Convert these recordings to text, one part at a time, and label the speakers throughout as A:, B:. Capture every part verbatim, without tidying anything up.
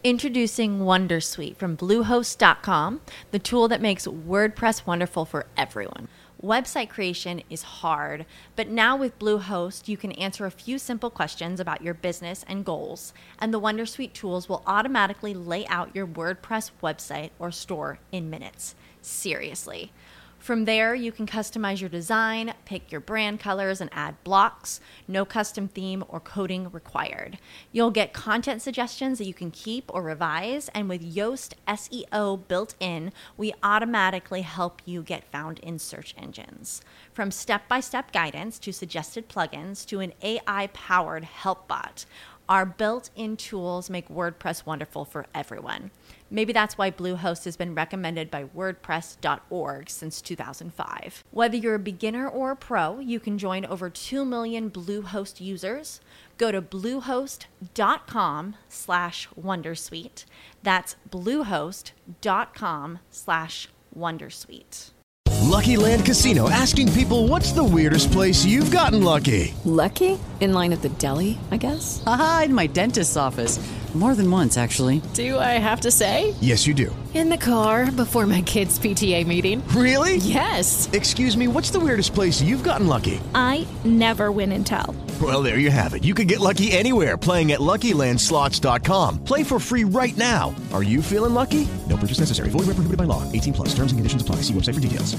A: Introducing Wondersuite from Bluehost dot com, the tool that makes WordPress wonderful for everyone. Website creation is hard, but now with Bluehost, you can answer a few simple questions about your business and goals, and the Wondersuite tools will automatically lay out your WordPress website or store in minutes. Seriously. From there, you can customize your design, pick your brand colors, and add blocks. No custom theme or coding required. You'll get content suggestions that you can keep or revise, and with Yoast S E O built in, we automatically help you get found in search engines. From step-by-step guidance to suggested plugins to an A I-powered help bot, our built-in tools make WordPress wonderful for everyone. Maybe that's why Bluehost has been recommended by WordPress dot org since two thousand five. Whether you're a beginner or a pro, you can join over two million Bluehost users. Go to bluehost dot com slash wondersuite. That's bluehost dot com slash wondersuite.
B: Lucky Land Casino, asking people, what's the weirdest place you've gotten lucky?
C: Lucky? In line at the deli, I guess?
D: Aha, in my dentist's office. More than once, actually.
C: Do I have to say?
B: Yes, you do.
C: In the car before my kids' P T A meeting.
B: Really?
C: Yes.
B: Excuse me, what's the weirdest place you've gotten lucky?
E: I never win and tell.
B: Well, there you have it. You can get lucky anywhere, playing at Lucky Land Slots dot com. Play for free right now. Are you feeling lucky? No purchase necessary. Void where prohibited by law. eighteen plus. Terms and conditions apply. See website for details.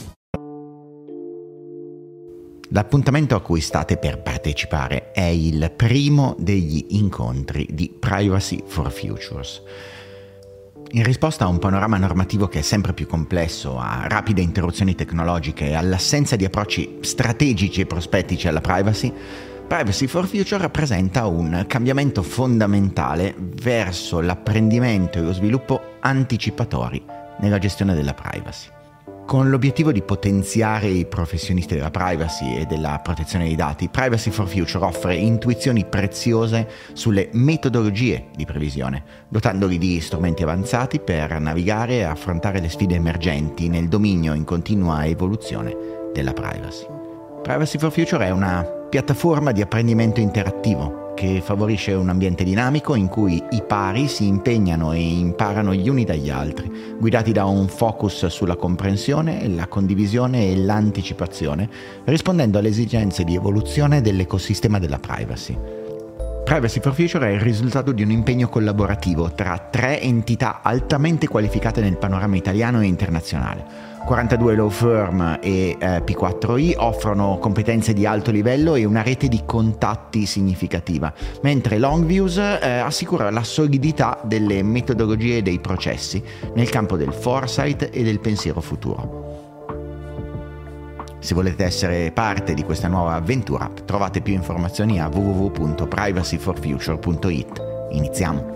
F: L'appuntamento a cui state per partecipare è il primo degli incontri di Privacy for Futures. In risposta a un panorama normativo che è sempre più complesso, a rapide interruzioni tecnologiche e all'assenza di approcci strategici e prospettici alla privacy, Privacy for Future rappresenta un cambiamento fondamentale verso l'apprendimento e lo sviluppo anticipatori nella gestione della privacy. Con l'obiettivo di potenziare i professionisti della privacy e della protezione dei dati, Privacy for Future offre intuizioni preziose sulle metodologie di previsione, dotandoli di strumenti avanzati per navigare e affrontare le sfide emergenti nel dominio in continua evoluzione della privacy. Privacy for Future è una piattaforma di apprendimento interattivo che favorisce un ambiente dinamico in cui i pari si impegnano e imparano gli uni dagli altri, guidati da un focus sulla comprensione, la condivisione e l'anticipazione, rispondendo alle esigenze di evoluzione dell'ecosistema della privacy. Privacy for Future è il risultato di un impegno collaborativo tra tre entità altamente qualificate nel panorama italiano e internazionale. quarantadue law firm e eh, P quattro I offrono competenze di alto livello e una rete di contatti significativa, mentre Longviews eh, assicura la solidità delle metodologie e dei processi nel campo del foresight e del pensiero futuro. Se volete essere parte di questa nuova avventura, trovate più informazioni a w w w punto privacy for future punto i t. Iniziamo!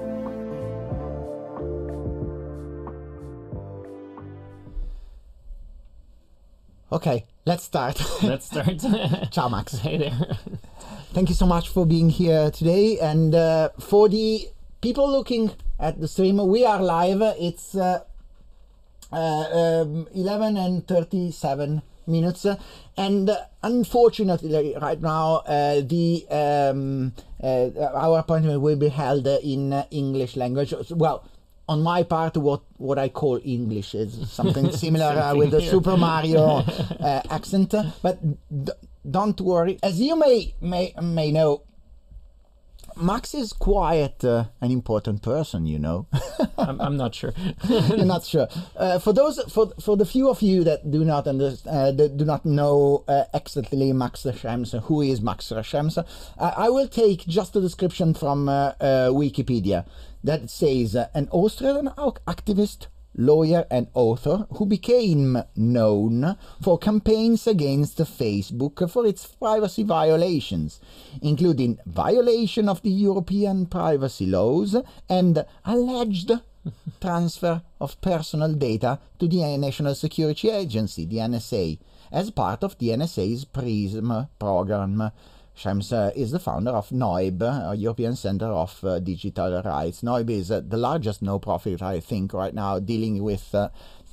G: Okay, let's start.
H: Let's start.
G: Ciao, Max.
H: Hey there.
G: Thank you so much for being here today. And uh, for the people looking at the stream, we are live. It's uh, uh, um, eleven and thirty-seven minutes. And uh, unfortunately, right now, uh, the um, uh, our appointment will be held in uh, English language. Well, on my part, what, what I call English is something similar uh, with the Super Mario uh, accent. But d- don't worry. As you may may may know, Max is quite uh, an important person, you know.
H: I'm, I'm not sure.
G: You're not sure. Uh, for those, for for the few of you that do not understand, uh, that do not know uh, exactly Max Schrems, who is Max Schrems, uh, I will take just a description from uh, uh, Wikipedia that says uh, an Australian activist, lawyer and author who became known for campaigns against Facebook for its privacy violations, including violation of the European privacy laws and alleged transfer of personal data to the National Security Agency, the N S A, as part of the N S A's PRISM program. Schrems uh, is the founder of N O I B, uh, European Center of uh, Digital Rights. N O I B is uh, the largest no-profit, I think, right now, dealing with uh,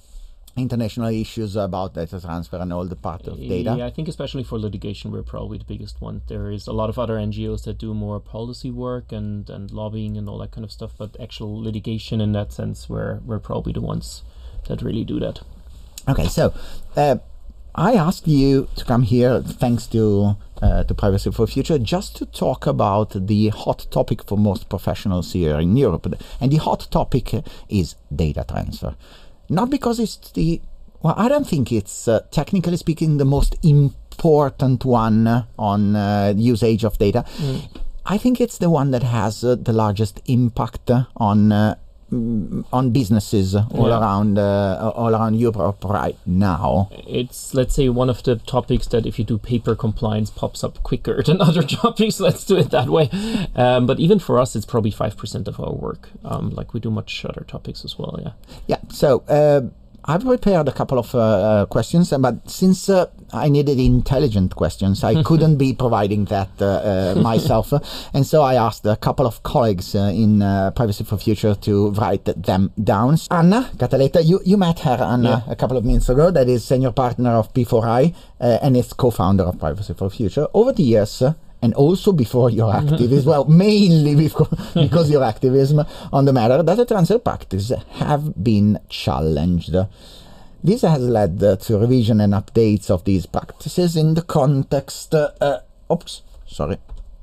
G: international issues about data transfer and all the part of data?
H: Yeah, I think especially for litigation, we're probably the biggest one. There is a lot of other N G Os that do more policy work and, and lobbying and all that kind of stuff, but actual litigation in that sense, we're, we're probably the ones that really do that.
G: Okay, so uh, I asked you to come here, thanks to uh, to Privacy for Future, just to talk about the hot topic for most professionals here in Europe. And the hot topic is data transfer. Not because it's the, well, I don't think it's, uh, technically speaking, the most important one on uh, usage of data. Mm. I think it's the one that has uh, the largest impact on uh, on businesses all yeah. around uh, all around Europe right now.
H: It's, let's say, one of the topics that if you do paper compliance pops up quicker than other topics. Let's do it that way. Um, but even for us, it's probably five percent of our work. Um, like we do much other topics as well. Yeah.
G: Yeah. So uh, I've prepared a couple of uh, uh, questions, but since uh, I needed intelligent questions, I couldn't be providing that uh, uh, myself. And so I asked a couple of colleagues uh, in uh, Privacy for Future to write them down. Anna Cataletta, you, you met her, Anna, yeah. a couple of minutes ago. That is senior partner of P four I uh, and is co-founder of Privacy for Future. Over the years, uh, and also before your activism, well, mainly because, because your activism on the matter, data transfer practices have been challenged. This has led uh, to revision and updates of these practices in the context, uh, uh, oops, sorry,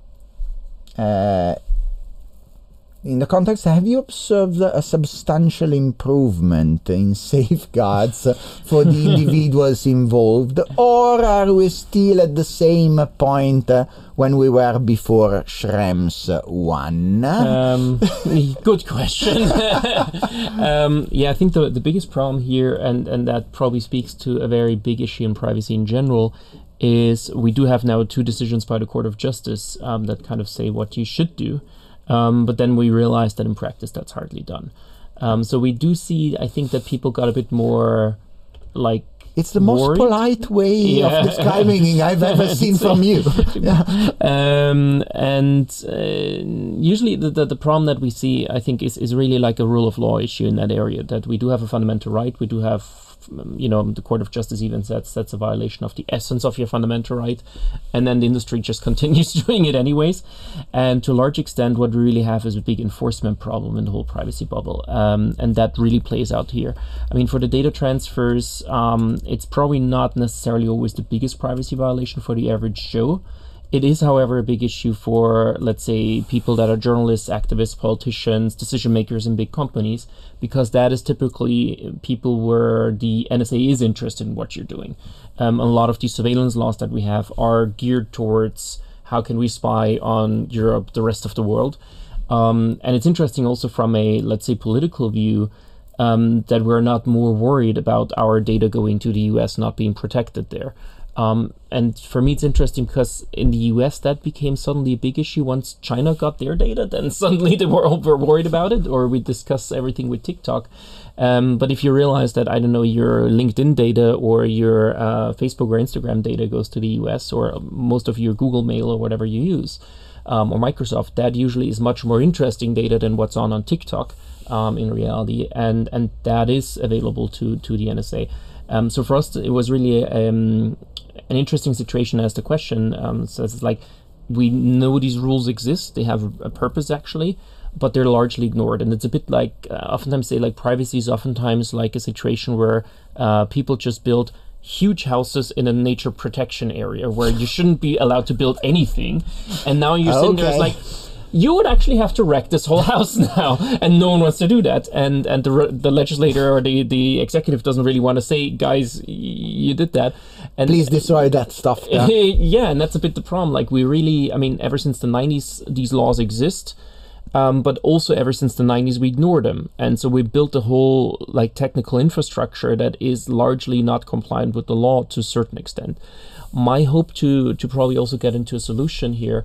G: uh, in the context, have you observed a substantial improvement in safeguards for the individuals involved, or are we still at the same point uh, when we were before Schrems one?
H: Um, good question. um, yeah, I think the the biggest problem here, and, and that probably speaks to a very big issue in privacy in general, is we do have now two decisions by the Court of Justice um, that kind of say what you should do. Um, but then we realized that in practice that's hardly done. Um, so we do see, I think, that people got a bit more, like,
G: it's the most
H: worried.
G: polite way yeah. of describing I've ever seen from you. yeah.
H: um, and uh, usually the, the the problem that we see, I think, is, is really like a rule of law issue in that area, that we do have a fundamental right, we do have, you know, the Court of Justice even says that's a violation of the essence of your fundamental right, and then the industry just continues doing it anyways. And to a large extent, what we really have is a big enforcement problem in the whole privacy bubble, um, and that really plays out here. I mean, for the data transfers, um, it's probably not necessarily always the biggest privacy violation for the average Joe. It is, however, a big issue for, let's say, people that are journalists, activists, politicians, decision makers in big companies, because that is typically people where the N S A is interested in what you're doing. Um, a lot of these surveillance laws that we have are geared towards how can we spy on Europe, the rest of the world. Um, and it's interesting also from a, let's say, political view, um, that we're not more worried about our data going to the U S not being protected there. Um, and for me, it's interesting because in the U S that became suddenly a big issue once China got their data. Then suddenly they were over worried about it, or we discuss everything with TikTok. Um, but if you realize that, I don't know, your LinkedIn data or your uh, Facebook or Instagram data goes to the U S, or most of your Google Mail or whatever you use, um, or Microsoft, that usually is much more interesting data than what's on on TikTok um, in reality, and and that is available to to the N S A. Um, so for us, it was really um, an interesting situation as the question. Um, so it's like, we know these rules exist, they have a purpose actually, but they're largely ignored. And it's a bit like, uh, oftentimes say like privacy is oftentimes like a situation where uh, people just build huge houses in a nature protection area where you shouldn't be allowed to build anything. And now you're sitting okay. there, it's like, you would actually have to wreck this whole house now, and no one wants to do that. And and the the legislator or the, the executive doesn't really want to say, guys, you did that. And
G: please destroy that stuff. Yeah.
H: yeah, and that's a bit the problem. Like we really, I mean, ever since the nineties, these laws exist, um, but also ever since the nineties, we ignore them. And so we built a whole like technical infrastructure that is largely not compliant with the law to a certain extent. My hope to to probably also get into a solution here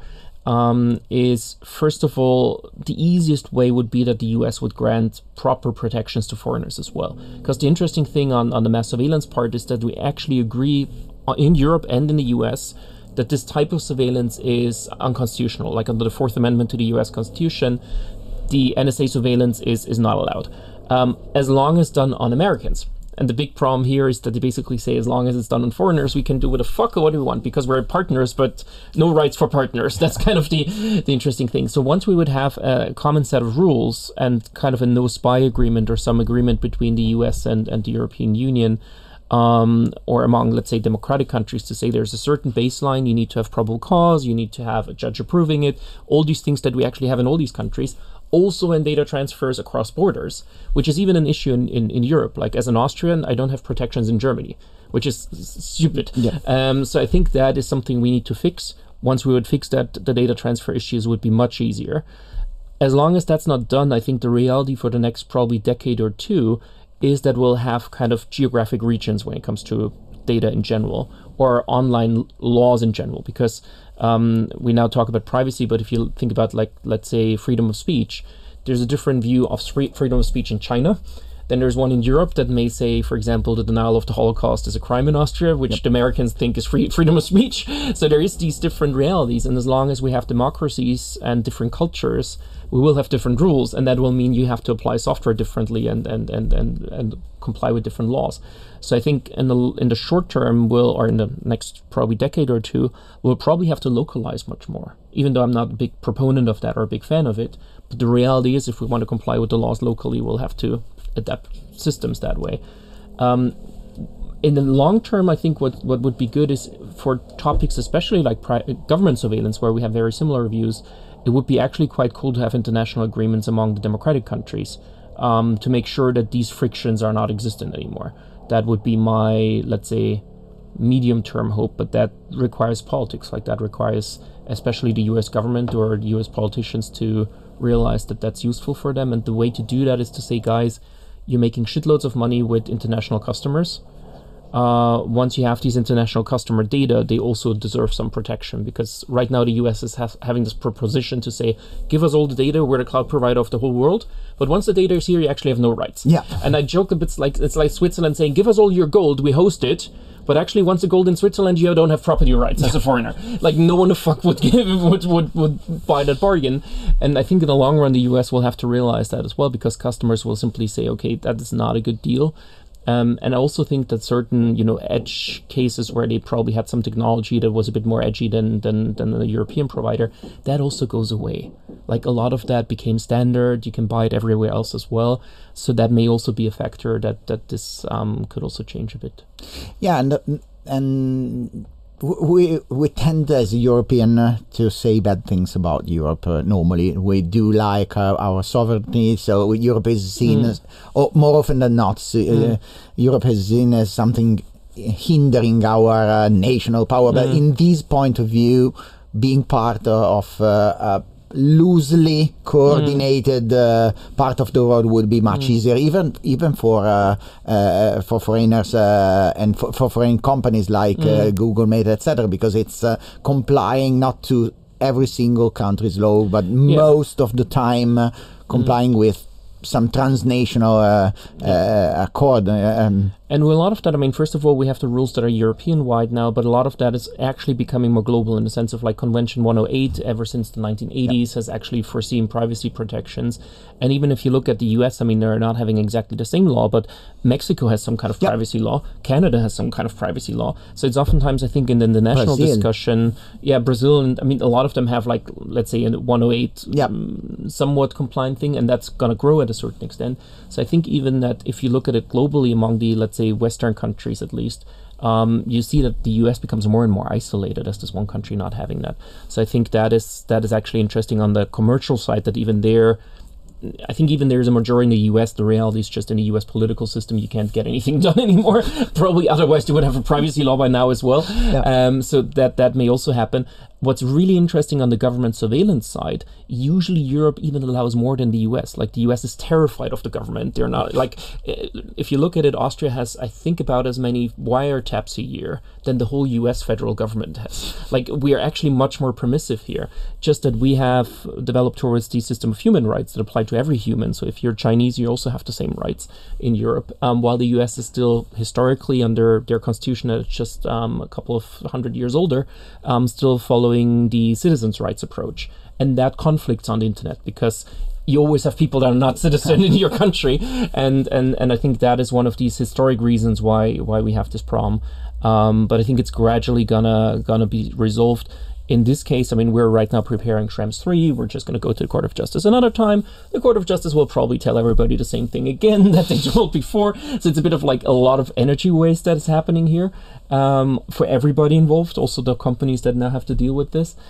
H: Um, is, first of all, the easiest way would be that the U S would grant proper protections to foreigners as well. Because the interesting thing on, on the mass surveillance part is that we actually agree in Europe and in the U S that this type of surveillance is unconstitutional. Like under the Fourth Amendment to the U S Constitution, the N S A surveillance is, is not allowed, um, as long as done on Americans. and the big problem here is that they basically say as long as it's done on foreigners, we can do what the fuck what we want because we're partners, but no rights for partners. That's kind of the, the interesting thing. So once we would have a common set of rules and kind of a no spy agreement or some agreement between the U S and, and the European Union, um, or among, let's say, democratic countries to say there's a certain baseline, you need to have probable cause, you need to have a judge approving it, all these things that we actually have in all these countries, also in data transfers across borders, which is even an issue in, in, in Europe. Like as an Austrian, I don't have protections in Germany, which is stupid. Yeah. Um, so I think that is something we need to fix. Once we would fix that, the data transfer issues would be much easier. As long as that's not done, I think the reality for the next probably decade or two is that we'll have kind of geographic regions when it comes to data in general, or online laws in general, because um, we now talk about privacy, but if you think about, like, let's say freedom of speech, there's a different view of freedom of speech in China. Then there's one in Europe that may say, for example, the denial of the Holocaust is a crime in Austria, which yep. the Americans think is free freedom of speech. So there is these different realities, and as long as we have democracies and different cultures, we will have different rules, and that will mean you have to apply software differently and and and and, and comply with different laws. So I think in the in the short term, we'll, or in the next probably decade or two, we'll probably have to localize much more, even though I'm not a big proponent of that or a big fan of it. But the reality is, if we want to comply with the laws locally, we'll have to adapt systems that way. Um, in the long term, I think what, what would be good is for topics, especially like pri- government surveillance, where we have very similar views, it would be actually quite cool to have international agreements among the democratic countries um, to make sure that these frictions are not existent anymore. That would be my, let's say, medium-term hope, but that requires politics. Like that requires especially the U S government or U S politicians to realize that that's useful for them. And the way to do that is to say, guys, you're making shitloads of money with international customers. Uh, once you have these international customer data, they also deserve some protection, because right now the U S is ha- having this proposition to say, give us all the data, we're the cloud provider of the whole world. But once the data is here, you actually have no rights. Yeah. And I joke a bit, like it's like Switzerland saying, give us all your gold, we host it. But actually, once the gold in Switzerland, you don't have property rights as a foreigner. Like no one the fuck would give would, would would buy that bargain. And I think in the long run, the U S will have to realize that as well, because customers will simply say, okay, that is not a good deal. Um, and I also think that certain, you know, edge cases where they probably had some technology that was a bit more edgy than than than the European provider, that also goes away. Like a lot of that became standard. You can buy it everywhere else as well. So that may also be a factor that that this um, could also change a bit.
G: Yeah, and and we we tend as a European uh, to say bad things about Europe. Uh, normally, we do like uh, our sovereignty. So Europe is seen mm. as, or more often than not, uh, mm. Europe is seen as something hindering our uh, national power. Mm. But in this point of view, being part of uh, a loosely coordinated mm. uh, part of the world would be much mm. easier, even even for uh, uh, for foreigners uh, and for, for foreign companies like mm. uh, Google, Meta, et cetera, because it's uh, complying not to every single country's law, but yeah. most of the time uh, complying mm. with some transnational uh, yeah. uh, accord. Um,
H: And with a lot of that, I mean, first of all, we have the rules that are European-wide now, but a lot of that is actually becoming more global in the sense of like Convention one oh eight, ever since the nineteen eighties, yeah. has actually foreseen privacy protections. And even if you look at the U S, I mean, they're not having exactly the same law, but Mexico has some kind of yeah. privacy law. Canada has some kind of privacy law. So it's oftentimes, I think, in the, the national Brazil. discussion, yeah, Brazil, and I mean, a lot of them have like, let's say, a one oh eight yeah. um, somewhat compliant thing, and that's going to grow at a certain extent. So I think even that if you look at it globally among the, let's say, Western countries at least, um, you see that the U S becomes more and more isolated as this one country not having that. So I think that is that is actually interesting on the commercial side, that even there, I think even there's a majority in the U S, the reality is just in the U S political system, you can't get anything done anymore. Probably otherwise you would have a privacy law by now as well. Yeah. Um, so that, that may also happen. What's really interesting on the government surveillance side, usually Europe even allows more than the U S. Like the U S is terrified of the government. They're not, like, if you look at it, Austria has, I think, about as many wiretaps a year than the whole U S federal government has. Like, we are actually much more permissive here. Just that we have developed towards the system of human rights that apply to every human. So if you're Chinese, you also have the same rights in Europe. Um, while the U S is still historically under their constitution, that's just um, a couple of hundred years older, um, still following the citizens' rights approach. And that conflicts on the internet, because you always have people that are not citizen in your country, and, and and I think that is one of these historic reasons why why we have this problem. Um, but I think it's gradually gonna gonna be resolved. In this case, I mean, we're right now preparing Schrems three. We're just going to go to the Court of Justice another time. The Court of Justice will probably tell everybody the same thing again that they told before. So it's a bit of like a lot of energy waste that is happening here um, for everybody involved, also the companies that now have to deal with this.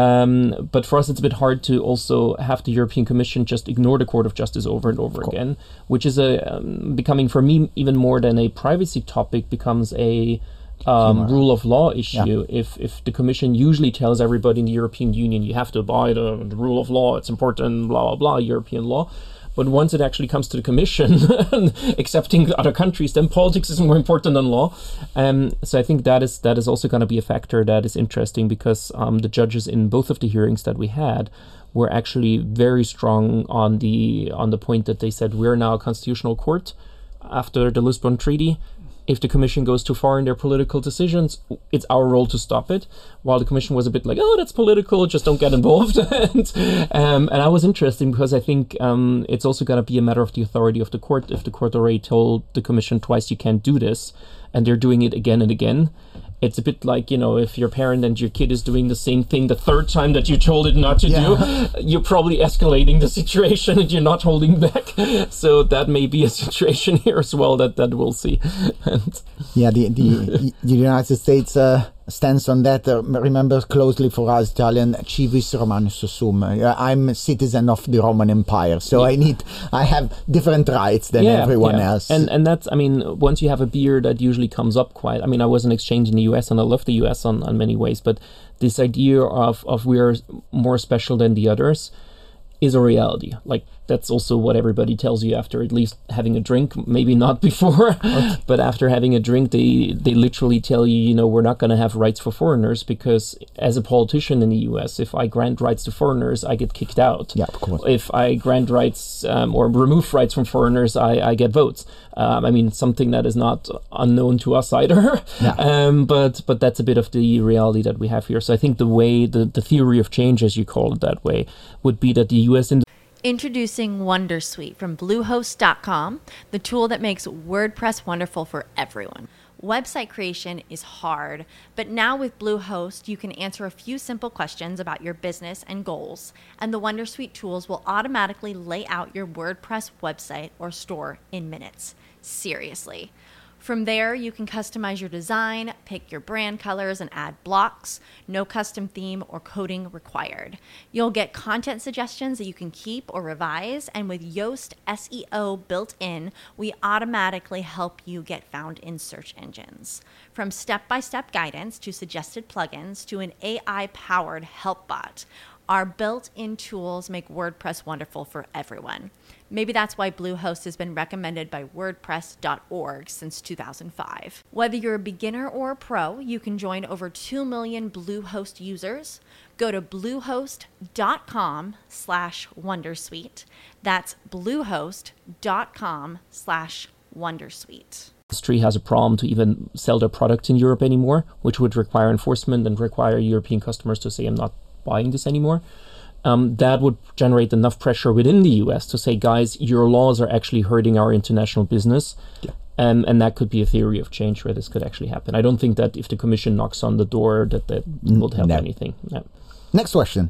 H: Um, but for us, it's a bit hard to also have the European Commission just ignore the Court of Justice over and over again, which is a um, becoming, for me, even more than a privacy topic, becomes a Um, rule of law issue. Yeah. If if the Commission usually tells everybody in the European Union, you have to abide uh, the rule of law, it's important, blah, blah, blah, European law. But once it actually comes to the Commission, accepting other countries, then politics is more important than law. Um, so I think that is that is also going to be a factor that is interesting, because um, the judges in both of the hearings that we had were actually very strong on the on the point that they said we're now a constitutional court after the Lisbon Treaty. If the Commission goes too far in their political decisions, it's our role to stop it. While the Commission was a bit like, oh, that's political, just don't get involved. and, um, and I was interested because I think um, it's also going to be a matter of the authority of the court. If the court already told the Commission twice you can't do this, and they're doing it again and again, it's a bit like, you know, if your parent and your kid is doing the same thing the third time that you told it not to yeah. do, you're probably escalating the situation and you're not holding back. So that may be a situation here as well that, that we'll see. and
G: yeah, the, the, the United States uh, stance on that uh, remember closely for us Italian, civis Romanus sum. Uh, I'm a citizen of the Roman Empire, so yeah. I need, I have different rights than yeah, everyone
H: yeah.
G: else.
H: And and that's, I mean, once you have a beer, that usually comes up quite. I mean, I was an exchange in the U S and I love the U S on, on many ways, but this idea of, of we're more special than the others is a reality. Like, that's also what everybody tells you after at least having a drink, maybe not before, okay. but after having a drink, they, they literally tell you, you know, we're not going to have rights for foreigners, because as a politician in the U S, if I grant rights to foreigners, I get kicked out.
G: Yeah, of course.
H: If I grant rights um, or remove rights from foreigners, I, I get votes. Um, I mean, something that is not unknown to us either. Yeah. Um, but but that's a bit of the reality that we have here. So I think the way, the, the theory of change, as you call it that way, would be that the U S in
A: Introducing Wondersuite from Bluehost dot com, the tool that makes WordPress wonderful for everyone. Website creation is hard, but now with Bluehost, you can answer a few simple questions about your business and goals, and the Wondersuite tools will automatically lay out your WordPress website or store in minutes. Seriously. From there, you can customize your design, pick your brand colors, and add blocks. No custom theme or coding required. You'll get content suggestions that you can keep or revise, and with Yoast S E O built in, we automatically help you get found in search engines. From step-by-step guidance to suggested plugins to an A I-powered help bot, our built-in tools make WordPress wonderful for everyone. Maybe that's why Bluehost has been recommended by WordPress dot org since two thousand five. Whether you're a beginner or a pro, you can join over two million Bluehost users. Go to bluehost dot com slash wondersuite. That's bluehost dot com slash wondersuite.
H: Industry has a problem to even sell their products in Europe anymore, which would require enforcement and require European customers to say, I'm not buying this anymore. Um, that would generate enough pressure within the U S to say, guys, your laws are actually hurting our international business. Yeah. Um, and that could be a theory of change where this could actually happen. I don't think that if the Commission knocks on the door that that would help no. anything. No.
G: Next question.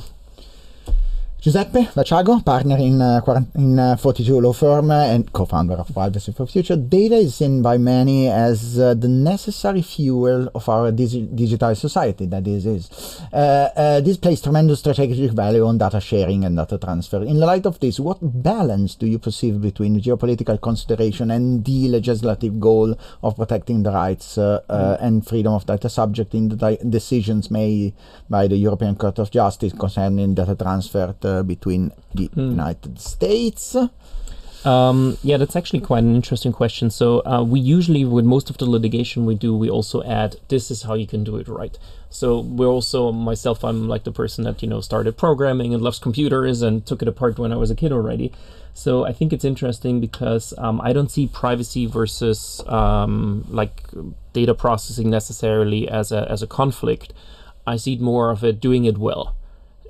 G: Giuseppe Vaciago, partner in, uh, in uh, forty-two Law Firm and co-founder of Privacy for Future. Data is seen by many as uh, the necessary fuel of our digi- digital society, that is. is. Uh, uh, this places tremendous strategic value on data sharing and data transfer. In the light of this, what balance do you perceive between geopolitical consideration and the legislative goal of protecting the rights uh, uh, and freedom of data subject in the di- decisions made by the European Court of Justice concerning data transfer to Uh, between the mm. United States?
H: Um, yeah, that's actually quite an interesting question. So uh, we usually, with most of the litigation we do, we also add, this is how you can do it right. So we're also, myself, I'm like the person that, you know, started programming and loves computers and took it apart when I was a kid already. So I think it's interesting because um, I don't see privacy versus um, like data processing necessarily as a as a conflict. I see it more of it doing it well.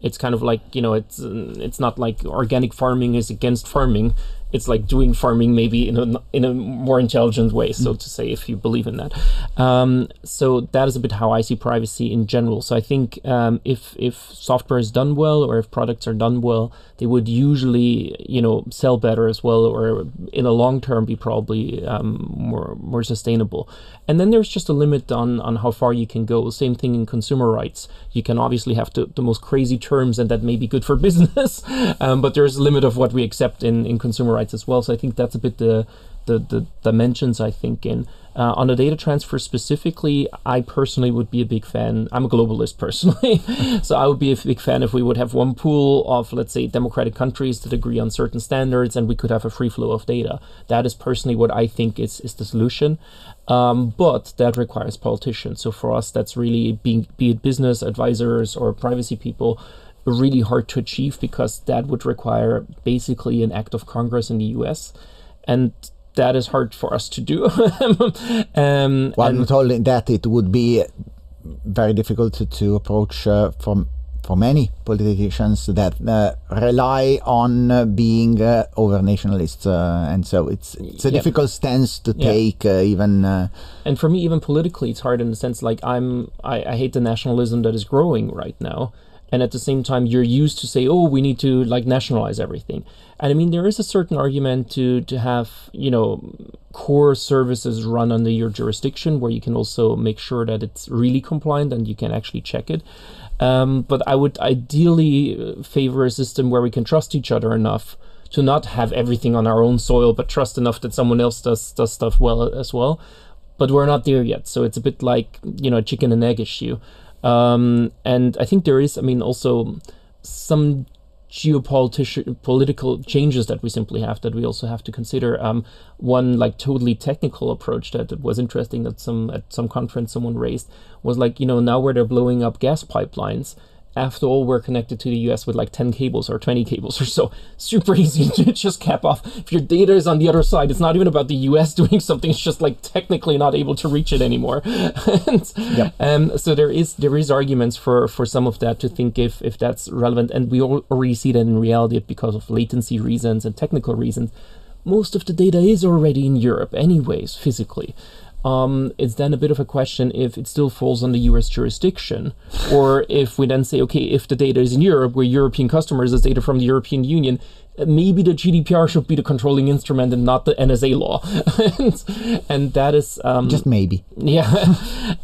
H: It's kind of like, you know, it's it's not like organic farming is against farming. It's like doing farming maybe in a in a more intelligent way, so to say, if you believe in that. Um, so that is a bit how I see privacy in general. So I think um, if if software is done well, or if products are done well, they would usually, you know, sell better as well, or in a long term be probably um, more more sustainable. And then there's just a limit on on how far you can go. Same thing in consumer rights. You can obviously have to, the most crazy terms, and that may be good for business, um, but there's a limit of what we accept in in consumer rights as well. So I think that's a bit the the, the dimensions I think in. Uh, on the data transfer specifically, I personally would be a big fan. I'm a globalist personally, so I would be a big fan if we would have one pool of, let's say, democratic countries that agree on certain standards, and we could have a free flow of data. That is personally what I think is, is the solution. Um, but that requires politicians. So for us, that's really, being, be it business advisors or privacy people, really hard to achieve, because that would require basically an act of Congress in the U S, and that is hard for us to do. um,
G: well,
H: and
G: not only that, it would be very difficult to, to approach uh, from for many politicians that uh, rely on uh, being uh, over nationalists, uh, and so it's it's a
H: yeah.
G: difficult stance to
H: yeah.
G: take, uh, even. Uh,
H: and for me, even politically, it's hard in the sense like I'm I, I hate the nationalism that is growing right now. And at the same time, you're used to say, oh, we need to like nationalize everything. And I mean, there is a certain argument to to have, you know, core services run under your jurisdiction, where you can also make sure that it's really compliant and you can actually check it. Um, but I would ideally favor a system where we can trust each other enough to not have everything on our own soil, but trust enough that someone else does does stuff well as well. But we're not there yet. So it's a bit like, you know, a chicken and egg issue. Um, and I think there is, I mean, also some geopolitical political changes that we simply have that we also have to consider. Um, one like totally technical approach that was interesting that some at some conference someone raised was like, you know, now where they're blowing up gas pipelines, after all, we're connected to the U S with like ten cables or twenty cables or so. Super easy to just cap off. If your data is on the other side, it's not even about the U S doing something. It's just like technically not able to reach it anymore. and,
G: yep.
H: um, so there is there is arguments for, for some of that to think if, if that's relevant. And we already see that in reality because of latency reasons and technical reasons. Most of the data is already in Europe anyways, physically. Um, it's then a bit of a question if it still falls on the U S jurisdiction, or if we then say, okay, if the data is in Europe, we're European customers, it's data from the European Union, maybe the G D P R should be the controlling instrument and not the N S A law. and, and that is... Um,
G: Just maybe.
H: Yeah.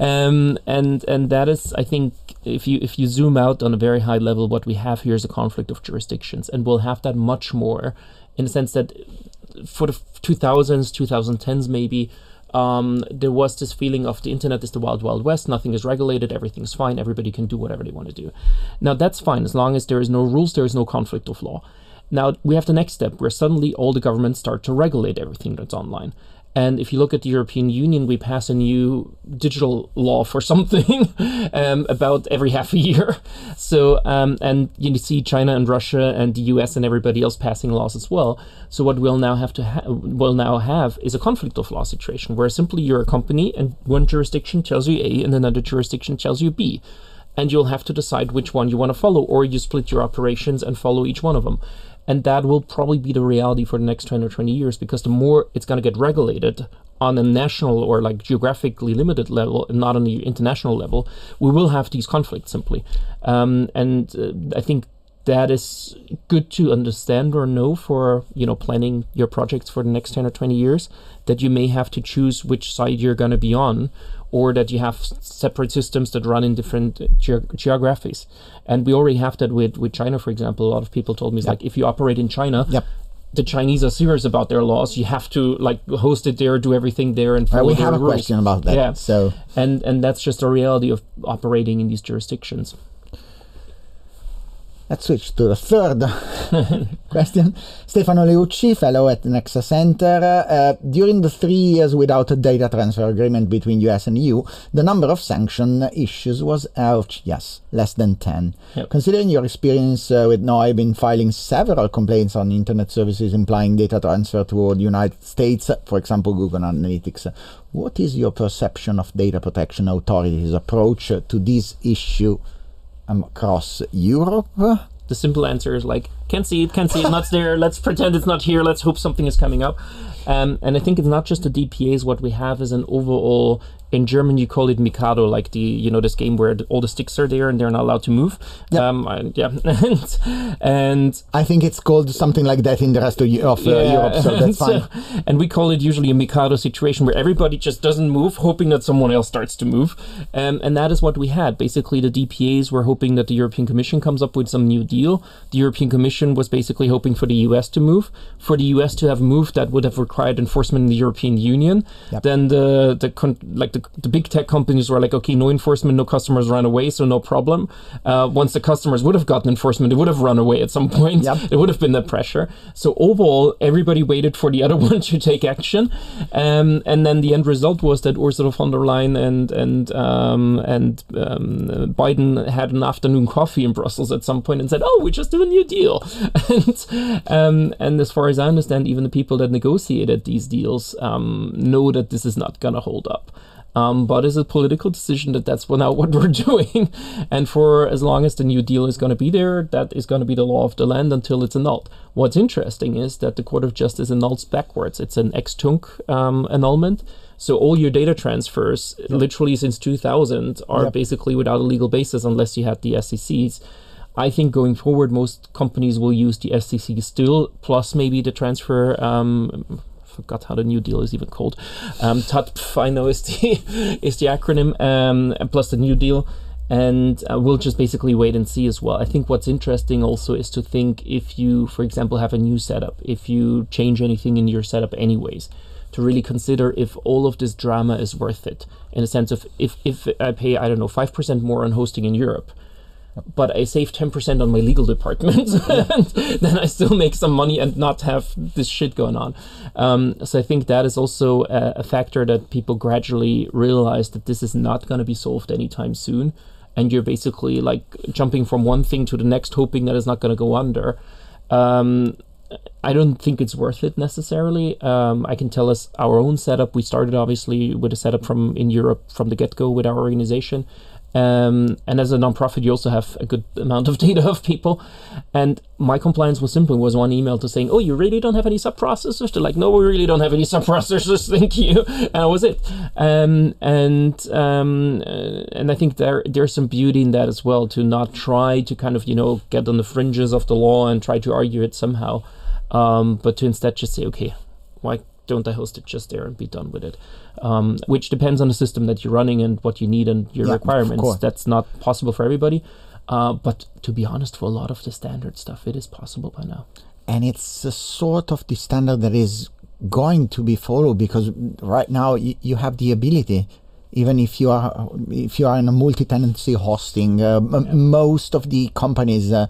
H: um, and and that is, I think, if you if you zoom out on a very high level, what we have here is a conflict of jurisdictions, and we'll have that much more in the sense that for the two thousands, twenty tens maybe, Um, there was this feeling of the internet is the wild, wild west. Nothing is regulated. Everything's fine. Everybody can do whatever they want to do. Now, that's fine. As long as there is no rules, there is no conflict of law. Now, we have the next step where suddenly all the governments start to regulate everything that's online. And if you look at the European Union, we pass a new digital law for something um, about every half a year. So, um, and you see China and Russia and the U S and everybody else passing laws as well. So what we'll now have to ha- we'll now have is a conflict of law situation where simply you're a company and one jurisdiction tells you A and another jurisdiction tells you B. And you'll have to decide which one you want to follow, or you split your operations and follow each one of them. And that will probably be the reality for the next ten or twenty years, because the more it's going to get regulated on a national or like geographically limited level, and not on the international level, we will have these conflicts simply. Um, and uh, I think that is good to understand or know for, you know, planning your projects for the next ten or twenty years, that you may have to choose which side you're going to be on, or that you have separate systems that run in different ge- geographies. And we already have that with, with China, for example. A lot of people told me, it's
G: yep.
H: like, if you operate in China,
G: yep.
H: the Chinese are serious about their laws. You have to like host it there, do everything there, and follow
G: uh, we
H: their
G: have a
H: rules.
G: question about that.
H: Yeah.
G: So,
H: and and that's just a reality of operating in these jurisdictions.
G: Let's switch to the third question. Stefano Leucci, fellow at Nexa Center. Uh, during the three years without a data transfer agreement between U S and E U, the number of sanction issues was, uh, yes, less than ten.
H: Yep.
G: Considering your experience uh, with N O I B in filing several complaints on internet services implying data transfer to the United States, for example, Google Analytics, what is your perception of data protection authorities' approach to this issue um, across Europe?
H: The simple answer is like, can't see it, can't see it, not there, let's pretend it's not here, let's hope something is coming up. Um, and I think it's not just the D P As, what we have is an overall, in German you call it Mikado, like the, you know, this game where the, all the sticks are there and they're not allowed to move.
G: Yep.
H: Um, and, yeah. and, and
G: I think it's called something like that in the rest of, of uh,
H: yeah.
G: Europe, so that's fine.
H: So, and we call it usually a Mikado situation where everybody just doesn't move, hoping that someone else starts to move. Um, and that is what we had. Basically, the D P As were hoping that the European Commission comes up with some new deal. The European Commission was basically hoping for the U S to move. For the U S to have moved, that would have required enforcement in the European Union.
G: Yep. Then
H: the the con- like the, the big tech companies were like, okay, no enforcement, no customers run away, so no problem. Uh, once the customers would have gotten enforcement, they would have run away at some point.
G: Yep.
H: There would have been that pressure. So overall, everybody waited for the other one to take action, um, and then the end result was that Ursula von der Leyen and and um, and um, Biden had an afternoon coffee in Brussels at some point and said, "Oh, we just do a new deal." and um, and as far as I understand, even the people that negotiated these deals um, know that this is not going to hold up. Um, but it's a political decision that that's now what we're doing. And for as long as the New Deal is going to be there, that is going to be the law of the land until it's annulled. What's interesting is that the Court of Justice annuls backwards. It's an ex-tunc um, annulment. So all your data transfers, yep. literally since two thousand, are yep. basically without a legal basis unless you had the S C Cs. I think going forward, most companies will use the S C C still, plus maybe the transfer... Um, forgot how the New Deal is even called. Um, T A T P, I know is the is the acronym, um, plus the New Deal, and uh, we'll just basically wait and see as well. I think what's interesting also is to think if you, for example, have a new setup, if you change anything in your setup anyways, to really consider if all of this drama is worth it, in a sense of if, if I pay, I don't know, five percent more on hosting in Europe, but I save ten percent on my legal department, and then I still make some money and not have this shit going on. Um, so I think that is also a, a factor that people gradually realize that this is not going to be solved anytime soon. And you're basically like jumping from one thing to the next, hoping that it's not going to go under. Um, I don't think it's worth it necessarily. Um, I can tell us our own setup. We started obviously with a setup from in Europe from the get-go with our organization. Um, and as a nonprofit, you also have a good amount of data of people. And my compliance was simple. It was one email to saying, "Oh, you really don't have any sub-processors?" They're like, "No, we really don't have any sub-processors, thank you." And that was it. Um, and um, uh, and I think there there's some beauty in that as well, to not try to kind of, you know, get on the fringes of the law and try to argue it somehow, um, but to instead just say, okay, why don't I host it just there and be done with it? Um, which depends on the system that you're running and what you need and your
G: yeah,
H: requirements. That's not possible for everybody. Uh, but to be honest, for a lot of the standard stuff, it is possible by now.
G: And it's a sort of the standard that is going to be followed, because right now y- you have the ability, even if you are if you are in a multi-tenancy hosting, uh, yeah. m- most of the companies uh,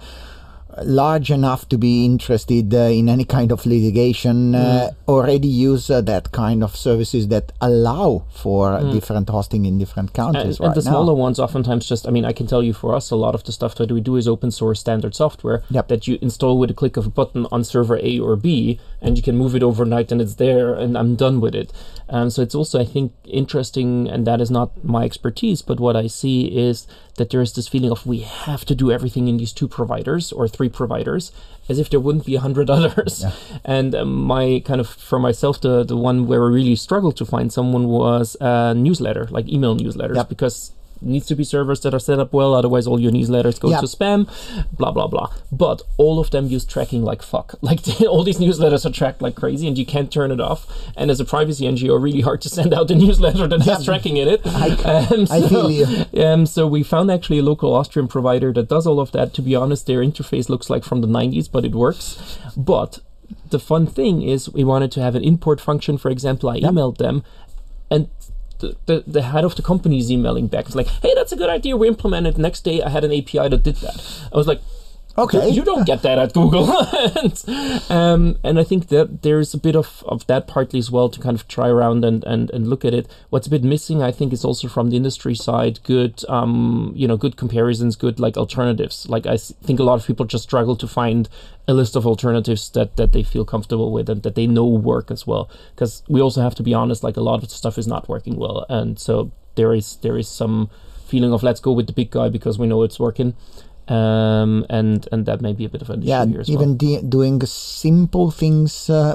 G: large enough to be interested uh, in any kind of litigation uh, mm. already use uh, that kind of services that allow for mm. different hosting in different countries.
H: And, and
G: right
H: the smaller
G: now.
H: ones oftentimes just, I mean, I can tell you for us, a lot of the stuff that we do is open source standard software
G: yep.
H: that you install with a click of a button on server A or B, and you can move it overnight and it's there and I'm done with it. Um, so it's also, I think, interesting, and that is not my expertise, but what I see is that there is this feeling of we have to do everything in these two providers or three providers, as if there wouldn't be a hundred others. Yeah. And um, my kind of, for myself, the, the one where I really struggled to find someone was a newsletter, like email newsletters, yep. because needs to be servers that are set up well, otherwise all your newsletters go yep. to spam, blah, blah, blah. But all of them use tracking like fuck. Like all these newsletters are tracked like crazy and you can't turn it off. And as a privacy N G O, really hard to send out a newsletter that has yep. tracking in it.
G: I,
H: um, so,
G: I feel you.
H: Um, so we found actually a local Austrian provider that does all of that. To be honest, their interface looks like from the nineties, but it works. But the fun thing is we wanted to have an import function. For example, I yep. emailed them, and The, the, the head of the company is emailing back. It's like, hey, that's a good idea. We implemented. Next day, I had an A P I that did that. I was like, okay, you don't get that at Google. and, um, and I think that there's a bit of, of that partly as well to kind of try around and, and, and look at it. What's a bit missing, I think, is also from the industry side, good, um, you know, good comparisons, good like alternatives. Like I think a lot of people just struggle to find a list of alternatives that, that they feel comfortable with and that they know work as well. Because we also have to be honest, like a lot of the stuff is not working well. And so there is there is some feeling of let's go with the big guy because we know it's working. Um, and and that may be a bit of an issue
G: yeah,
H: here as
G: even
H: well.
G: de- doing simple things uh,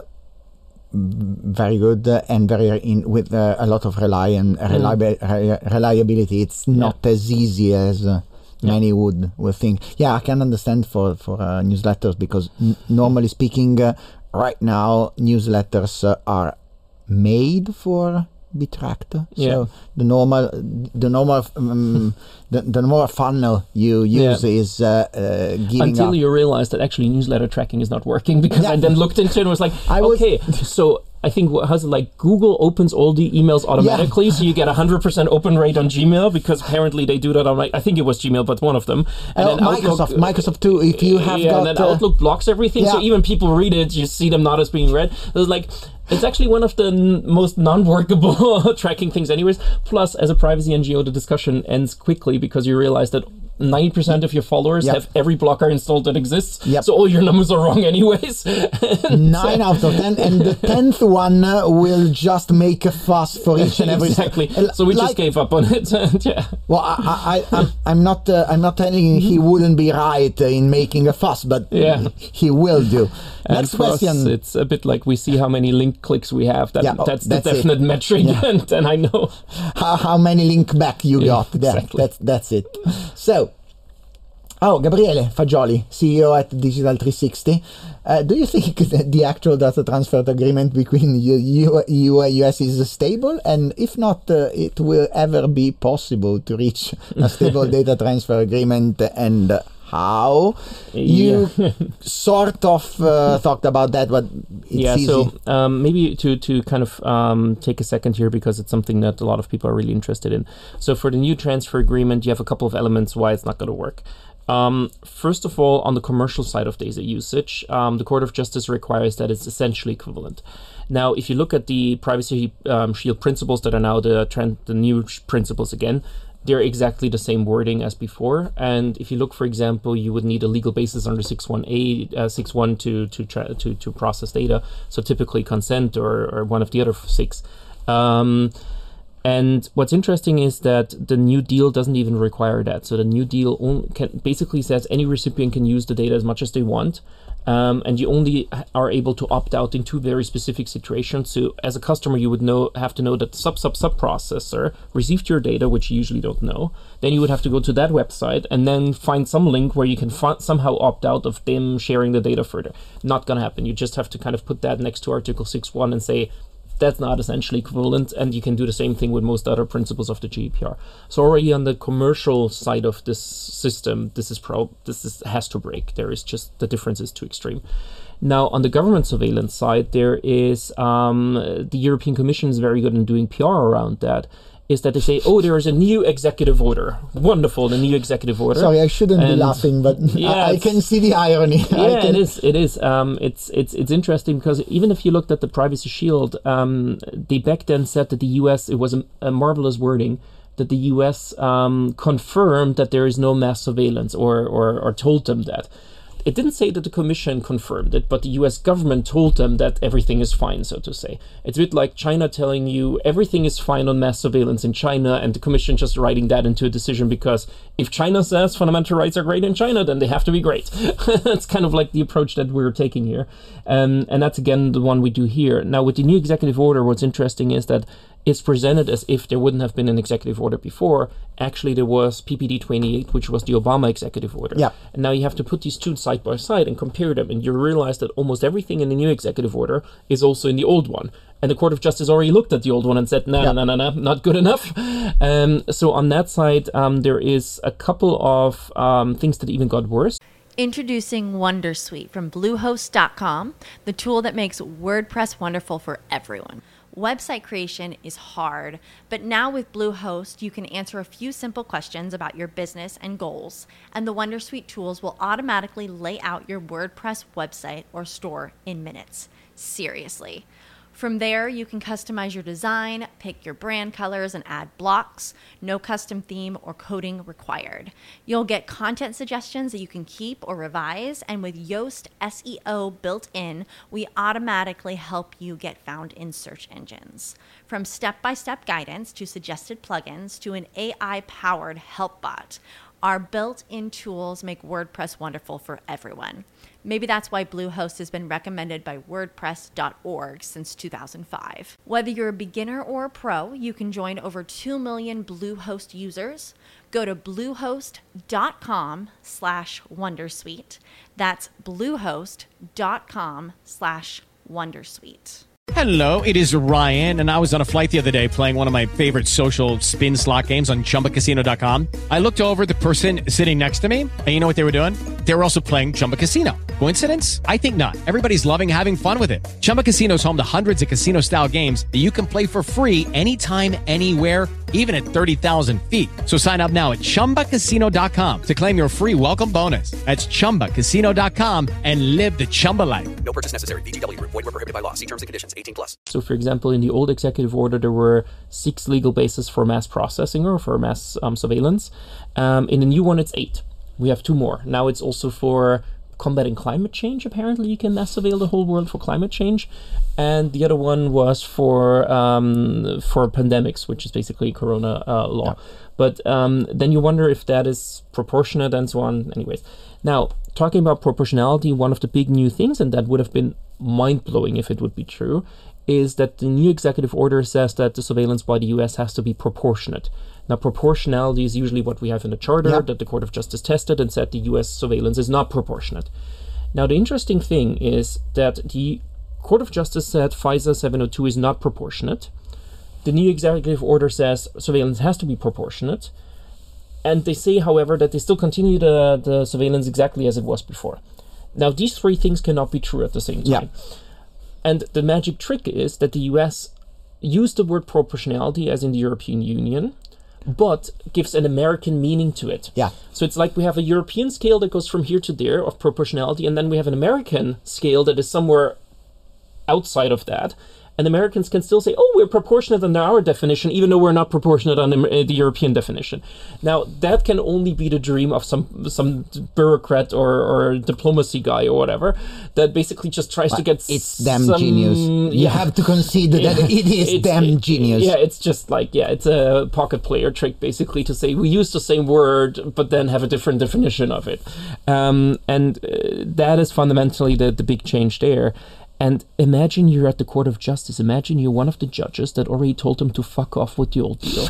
G: very good uh, and very in with uh, a lot of rely and reliabi- re- reliability. It's not
H: Yeah.
G: as easy as uh,
H: Yeah.
G: many would would think. Yeah, I can understand for for uh, newsletters because n- normally speaking, uh, right now newsletters uh, are made for Bitractor.
H: Yeah.
G: So the normal the normal um, the, the normal funnel you use
H: Yeah.
G: is uh, uh, giving
H: Until
G: up.
H: you realize that actually newsletter tracking is not working, because
G: Yeah.
H: I then looked into it and was like,
G: I was-
H: okay, so I think what how's it like Google opens all the emails automatically, so you get a hundred percent open rate on Gmail, because apparently they do that on, like, I think it was Gmail, but one of them. And
G: Uh,
H: then
G: Microsoft,
H: Outlook,
G: Microsoft too. If you have
H: yeah,
G: got,
H: and then
G: uh,
H: Outlook blocks everything, so
G: yeah.
H: even people read it, you see them not as being read. It's like, it's actually one of the n- most non-workable tracking things anyways. Plus, as a privacy N G O, the discussion ends quickly because you realize that ninety percent of your followers
G: Yep.
H: have every blocker installed that exists.
G: Yep.
H: So all your numbers are wrong anyways.
G: nine out of ten, and the tenth one uh, will just make a fuss for each and every.
H: Exactly.
G: Uh,
H: So we
G: like-
H: just gave up on it. And yeah.
G: Well, I, I, I, I'm, I'm not, uh, I'm not telling you he wouldn't be right in making a fuss, but
H: Yeah.
G: he will do.
H: And
G: Next
H: for us,
G: question.
H: it's a bit like we see how many link clicks we have. That,
G: Yeah, oh,
H: that's,
G: that's
H: the
G: it.
H: definite metric,
G: Yeah.
H: and, and I know.
G: how, how many link back you
H: Yeah,
G: got there.
H: exactly.
G: That's that's it. So, oh, Gabriele Fagioli, C E O at Digital three sixty. Uh, do you think that the actual data transfer agreement between U- U- E U and U S is stable? And if not, uh, it will ever be possible to reach a stable data transfer agreement, and uh, how? You sort of uh, talked about that, but it's
H: yeah,
G: easy.
H: so um, maybe to, to kind of um, take a second here, because it's something that a lot of people are really interested in. So for the new transfer agreement, you have a couple of elements why it's not going to work. Um, first of all, on the commercial side of data usage, um, the Court of Justice requires that it's essentially equivalent. Now, if you look at the Privacy um, Shield principles that are now the, trend, the new principles again, they're exactly the same wording as before. And if you look, for example, you would need a legal basis under six one A, uh, six one to to, tra- to to process data. So typically consent or, or one of the other six. Um, and what's interesting is that the new deal doesn't even require that. So the new deal only can, basically says any recipient can use the data as much as they want. Um, and you only are able to opt out in two very specific situations. So as a customer, you would know have to know that the sub sub sub processor received your data, which you usually don't know. Then you would have to go to that website and then find some link where you can f- somehow opt out of them sharing the data further. Not going to happen. You just have to kind of put that next to Article six one and say, that's not essentially equivalent, and you can do the same thing with most other principles of the G D P R. So already on the commercial side of this system, this is pro this is, has to break. There is just, the difference is too extreme. Now, on the government surveillance side, there is um, the European Commission is very good in doing P R around that. Is that they say, oh, there is a new executive order. Wonderful, the new executive order.
G: Sorry, I shouldn't be
H: And-
G: laughing, but
H: Yeah,
G: I, I
H: it's-
G: can see the irony. I
H: Yeah,
G: can,
H: it is. It is. Um, it's it's it's interesting because even if you looked at the Privacy Shield, um, they back then said that the U S, it was a, a marvelous wording, that the U S um, confirmed that there is no mass surveillance, or, or or told them that. It didn't say that the Commission confirmed it, but the U S government told them that everything is fine, so to say. It's a bit like China telling you everything is fine on mass surveillance in China, and the Commission just writing that into a decision because if China says fundamental rights are great in China, then they have to be great. That's kind of like the approach that we're taking here. Um, and that's, again, the one we do here. Now, with the new executive order, what's interesting is that it's presented as if there wouldn't have been an executive order before. Actually, there was P P D twenty-eight, which was the Obama executive order.
G: Yeah.
H: And now you have to put these two side by side and compare them, and you realize that almost everything in the new executive order is also in the old one. And the Court of Justice already looked at the old one and said, no,
G: Yeah.
H: no, no, no, not good enough. Um, so on that side, um, there is a couple of um, things that even got worse.
A: Introducing Wondersuite from Bluehost dot com, the tool that makes WordPress wonderful for everyone. Website creation is hard, but now with Bluehost, you can answer a few simple questions about your business and goals, and the Wondersuite tools will automatically lay out your WordPress website or store in minutes. Seriously. From there, you can customize your design, pick your brand colors, and add blocks. No custom theme or coding required. You'll get content suggestions that you can keep or revise, and with Yoast S E O built in, we automatically help you get found in search engines. From step-by-step guidance to suggested plugins to an A I-powered help bot, our built-in tools make WordPress wonderful for everyone. Maybe that's why Bluehost has been recommended by WordPress dot org since two thousand five. Whether you're a beginner or a pro, you can join over two million Bluehost users. Go to bluehost.com slash wondersuite. That's bluehost.com slash wondersuite.
I: Hello, it is Ryan, and I was on a flight the other day playing one of my favorite social spin slot games on chumba casino dot com. I looked over at the person sitting next to me, and you know what they were doing? They were also playing Chumba Casino. Coincidence? I think not. Everybody's loving having fun with it. Chumba Casino is home to hundreds of casino-style games that you can play for free anytime, anywhere, even at thirty thousand feet. So sign up now at chumba casino dot com to claim your free welcome bonus. That's chumba casino dot com and live the Chumba life.
J: No purchase necessary. V G W. Void where prohibited by law. See terms and conditions. eighteen plus.
H: So, for example, in the old executive order, there were six legal bases for mass processing or for mass um, surveillance. Um, in the new one, it's eight. We have two more. Now it's also for combating climate change. Apparently, you can mass surveil the whole world for climate change. And the other one was for um, for pandemics, which is basically Corona uh, law. Yeah. But um, then you wonder if that is proportionate and so on. Anyways, now talking about proportionality, one of the big new things, and that would have been mind-blowing if it would be true, is that the new executive order says that the surveillance by the U S has to be proportionate. Now, proportionality is usually what we have in the charter, yep. that the Court of Justice tested and said the U S surveillance is not proportionate. Now, the interesting thing is that the Court of Justice said FISA seven oh two is not proportionate. The new executive order says surveillance has to be proportionate. And they say, however, that they still continue the, the surveillance exactly as it was before. Now, these three things cannot be true at the same time. Yeah. And the magic trick is that the U S used the word proportionality as in the European Union, but gives an American meaning to it.
G: Yeah.
H: So it's like we have a European scale that goes from here to there of proportionality, and then we have an American scale that is somewhere outside of that. And Americans can still say, oh, we're proportionate under our definition, even though we're not proportionate under the European definition. Now, that can only be the dream of some some bureaucrat or, or diplomacy guy or whatever that basically just tries
G: but
H: to get
G: It's them
H: some,
G: genius. You
H: yeah.
G: have to concede that it is them
H: it,
G: genius.
H: Yeah, it's just like, yeah, it's a pocket player trick, basically, to say we use the same word, but then have a different definition of it. Um, and uh, that is fundamentally the, the big change there. And imagine you're at the Court of Justice. Imagine you're one of the judges that already told them to fuck off with the old deal.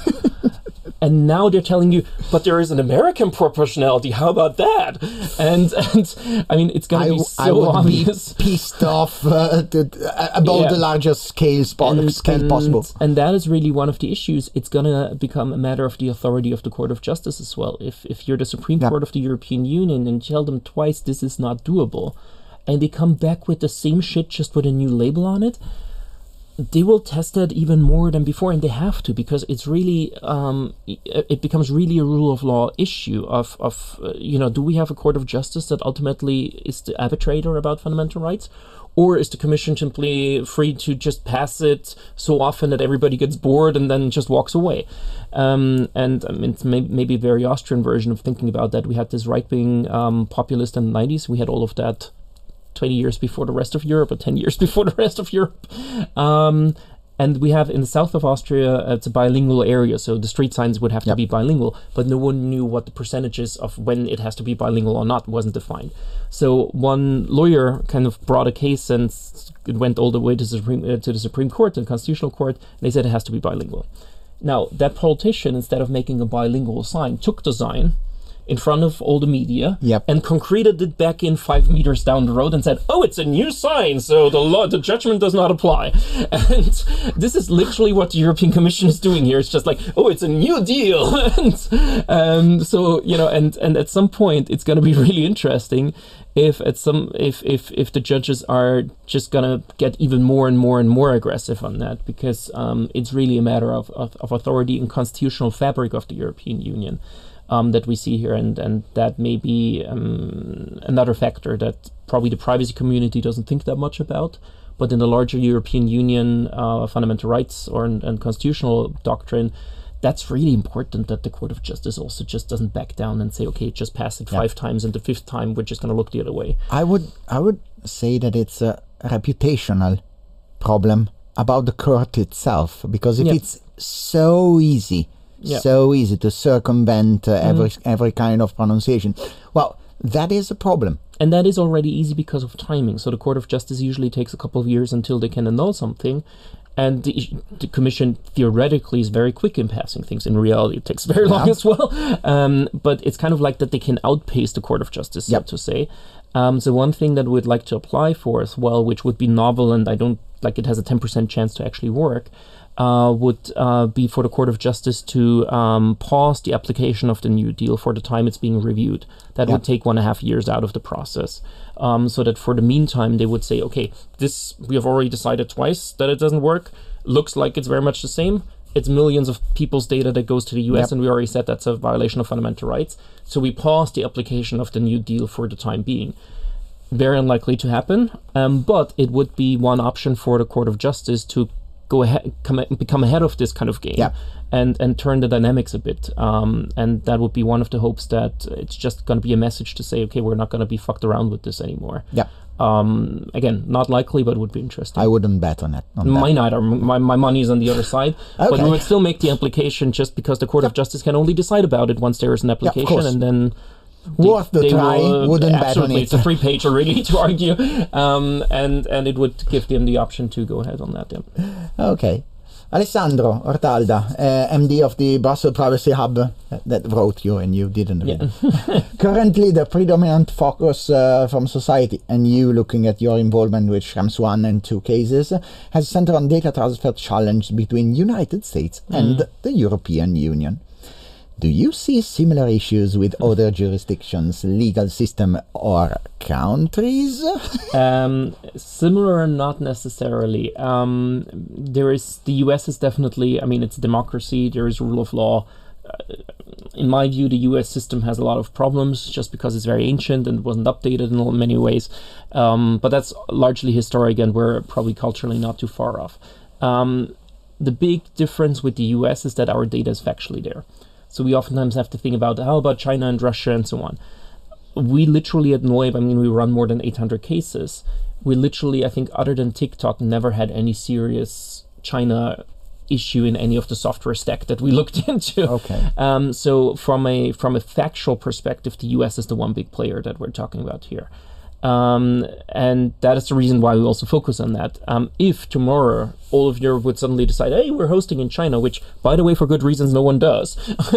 H: And now they're telling you, but there is an American proportionality. How about that? And, and I mean, it's going to be so
G: I would
H: obvious.
G: be pissed off uh, to, uh, about yeah. the largest scale, spo-
H: and,
G: scale
H: and,
G: possible.
H: And that is really one of the issues. It's going to become a matter of the authority of the Court of Justice as well. If, if you're the Supreme yeah. Court of the European Union and tell them twice this is not doable, and they come back with the same shit just with a new label on it, they will test that even more than before, and they have to, because it's really, um, it becomes really a rule of law issue of, of uh, you know, do we have a Court of Justice that ultimately is the arbitrator about fundamental rights? Or is the Commission simply free to just pass it so often that everybody gets bored and then just walks away? Um, and I mean, it's may- maybe a very Austrian version of thinking about that. We had this right-wing um, populist in the nineties. We had all of that twenty years before the rest of Europe, or ten years before the rest of Europe. Um, and we have in the south of Austria, uh, it's a bilingual area, so the street signs would have yep. to be bilingual, but no one knew what the percentages of when it has to be bilingual or not wasn't defined. So one lawyer kind of brought a case, and it went all the way to the Supreme, uh, to the Supreme Court, to the Constitutional Court, and they said it has to be bilingual. Now, that politician, instead of making a bilingual sign, took the sign in front of all the media
G: yep.
H: and concreted it back in five meters down the road and said, oh, it's a new sign, so the law, the judgment does not apply. And this is literally what the European Commission is doing here. It's just like, oh, it's a new deal. and um, so, you know, and, and at some point it's going to be really interesting if at some if, if if the judges are just going to get even more and more and more aggressive on that, because um, it's really a matter of, of, of authority and constitutional fabric of the European Union. Um, that we see here, and, and that may be um, another factor that probably the privacy community doesn't think that much about, but in the larger European Union uh, fundamental rights or and, and constitutional doctrine, that's really important that the Court of Justice also just doesn't back down and say, okay, just pass it five yeah. times, and the fifth time we're just going to look the other way.
G: I would I would say that it's a reputational problem about the court itself, because if yeah. it's so easy, yeah. so easy to circumvent uh, every mm. every kind of pronunciation, well, that is a problem.
H: And that is already easy because of timing. So the Court of Justice usually takes a couple of years until they can annul something. And the, the Commission theoretically is very quick in passing things. In reality, it takes very long yeah. as well. Um, but it's kind of like that they can outpace the Court of Justice, yep. so to say. Um, so one thing that we'd like to apply for as well, which would be novel, and I don't like it has a ten percent chance to actually work, uh, would uh, be for the Court of Justice to um, pause the application of the new deal for the time it's being reviewed. That yep. would take one and a half years out of the process. Um, so that for the meantime, they would say, okay, this we have already decided twice that it doesn't work. Looks like it's very much the same. It's millions of people's data that goes to the U S, yep. and we already said that's a violation of fundamental rights. So we pause the application of the new deal for the time being. Very unlikely to happen, um, but it would be one option for the Court of Justice to go ahead, come, become ahead of this kind of game, yep. and and turn the dynamics a bit. Um, and that would be one of the hopes, that it's just going to be a message to say, okay, we're not going to be fucked around with this anymore.
G: Yeah.
H: Um, again, not likely, but would be interesting.
G: I wouldn't bet on it. On
H: Mine either. My, my money is on the other side. Okay. But we would still make the application just because the Court yep. of Justice can only decide about it once there is an application,
G: yeah,
H: and then...
G: Worth the try, will, uh, wouldn't bet on it.
H: It's a free page already to argue, um, and and it would give them the option to go ahead on that. Yeah.
G: Okay. Alessandro Ortalda, uh, M D of the Brussels Privacy Hub, uh, that wrote you and you didn't read. Yeah. Currently, the predominant focus uh, from society, and you looking at your involvement with Schrems one and two cases, uh, has centered on data transfer challenge between United States mm. and the European Union. Do you see similar issues with other jurisdictions, legal system, or countries?
H: um, similar, not necessarily. Um, there is the U S is definitely. I mean, it's a democracy. There is rule of law. Uh, in my view, the U S system has a lot of problems just because it's very ancient and wasn't updated in many ways. Um, but that's largely historic, and we're probably culturally not too far off. Um, the big difference with the U S is that our data is factually there. So we oftentimes have to think about, how about China and Russia and so on. We literally at Noib, I mean, we run more than eight hundred cases. We literally, I think, other than TikTok, never had any serious China issue in any of the software stack that we looked into.
G: Okay.
H: Um, so from a from a factual perspective, the U S is the one big player that we're talking about here. Um, and that is the reason why we also focus on that. Um, if tomorrow all of Europe would suddenly decide, hey, we're hosting in China, which, by the way, for good reasons, no one does,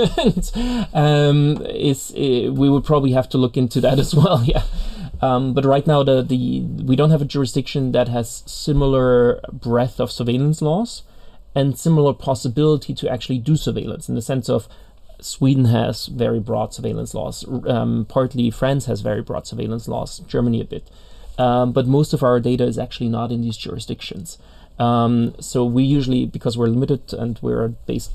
H: and, um, is, uh, we would probably have to look into that as well, yeah. Um, but right now, the, the we don't have a jurisdiction that has similar breadth of surveillance laws and similar possibility to actually do surveillance, in the sense of Sweden has very broad surveillance laws. Um, partly France has very broad surveillance laws, Germany a bit. Um, but most of our data is actually not in these jurisdictions. Um, so we usually, because we're limited and we're based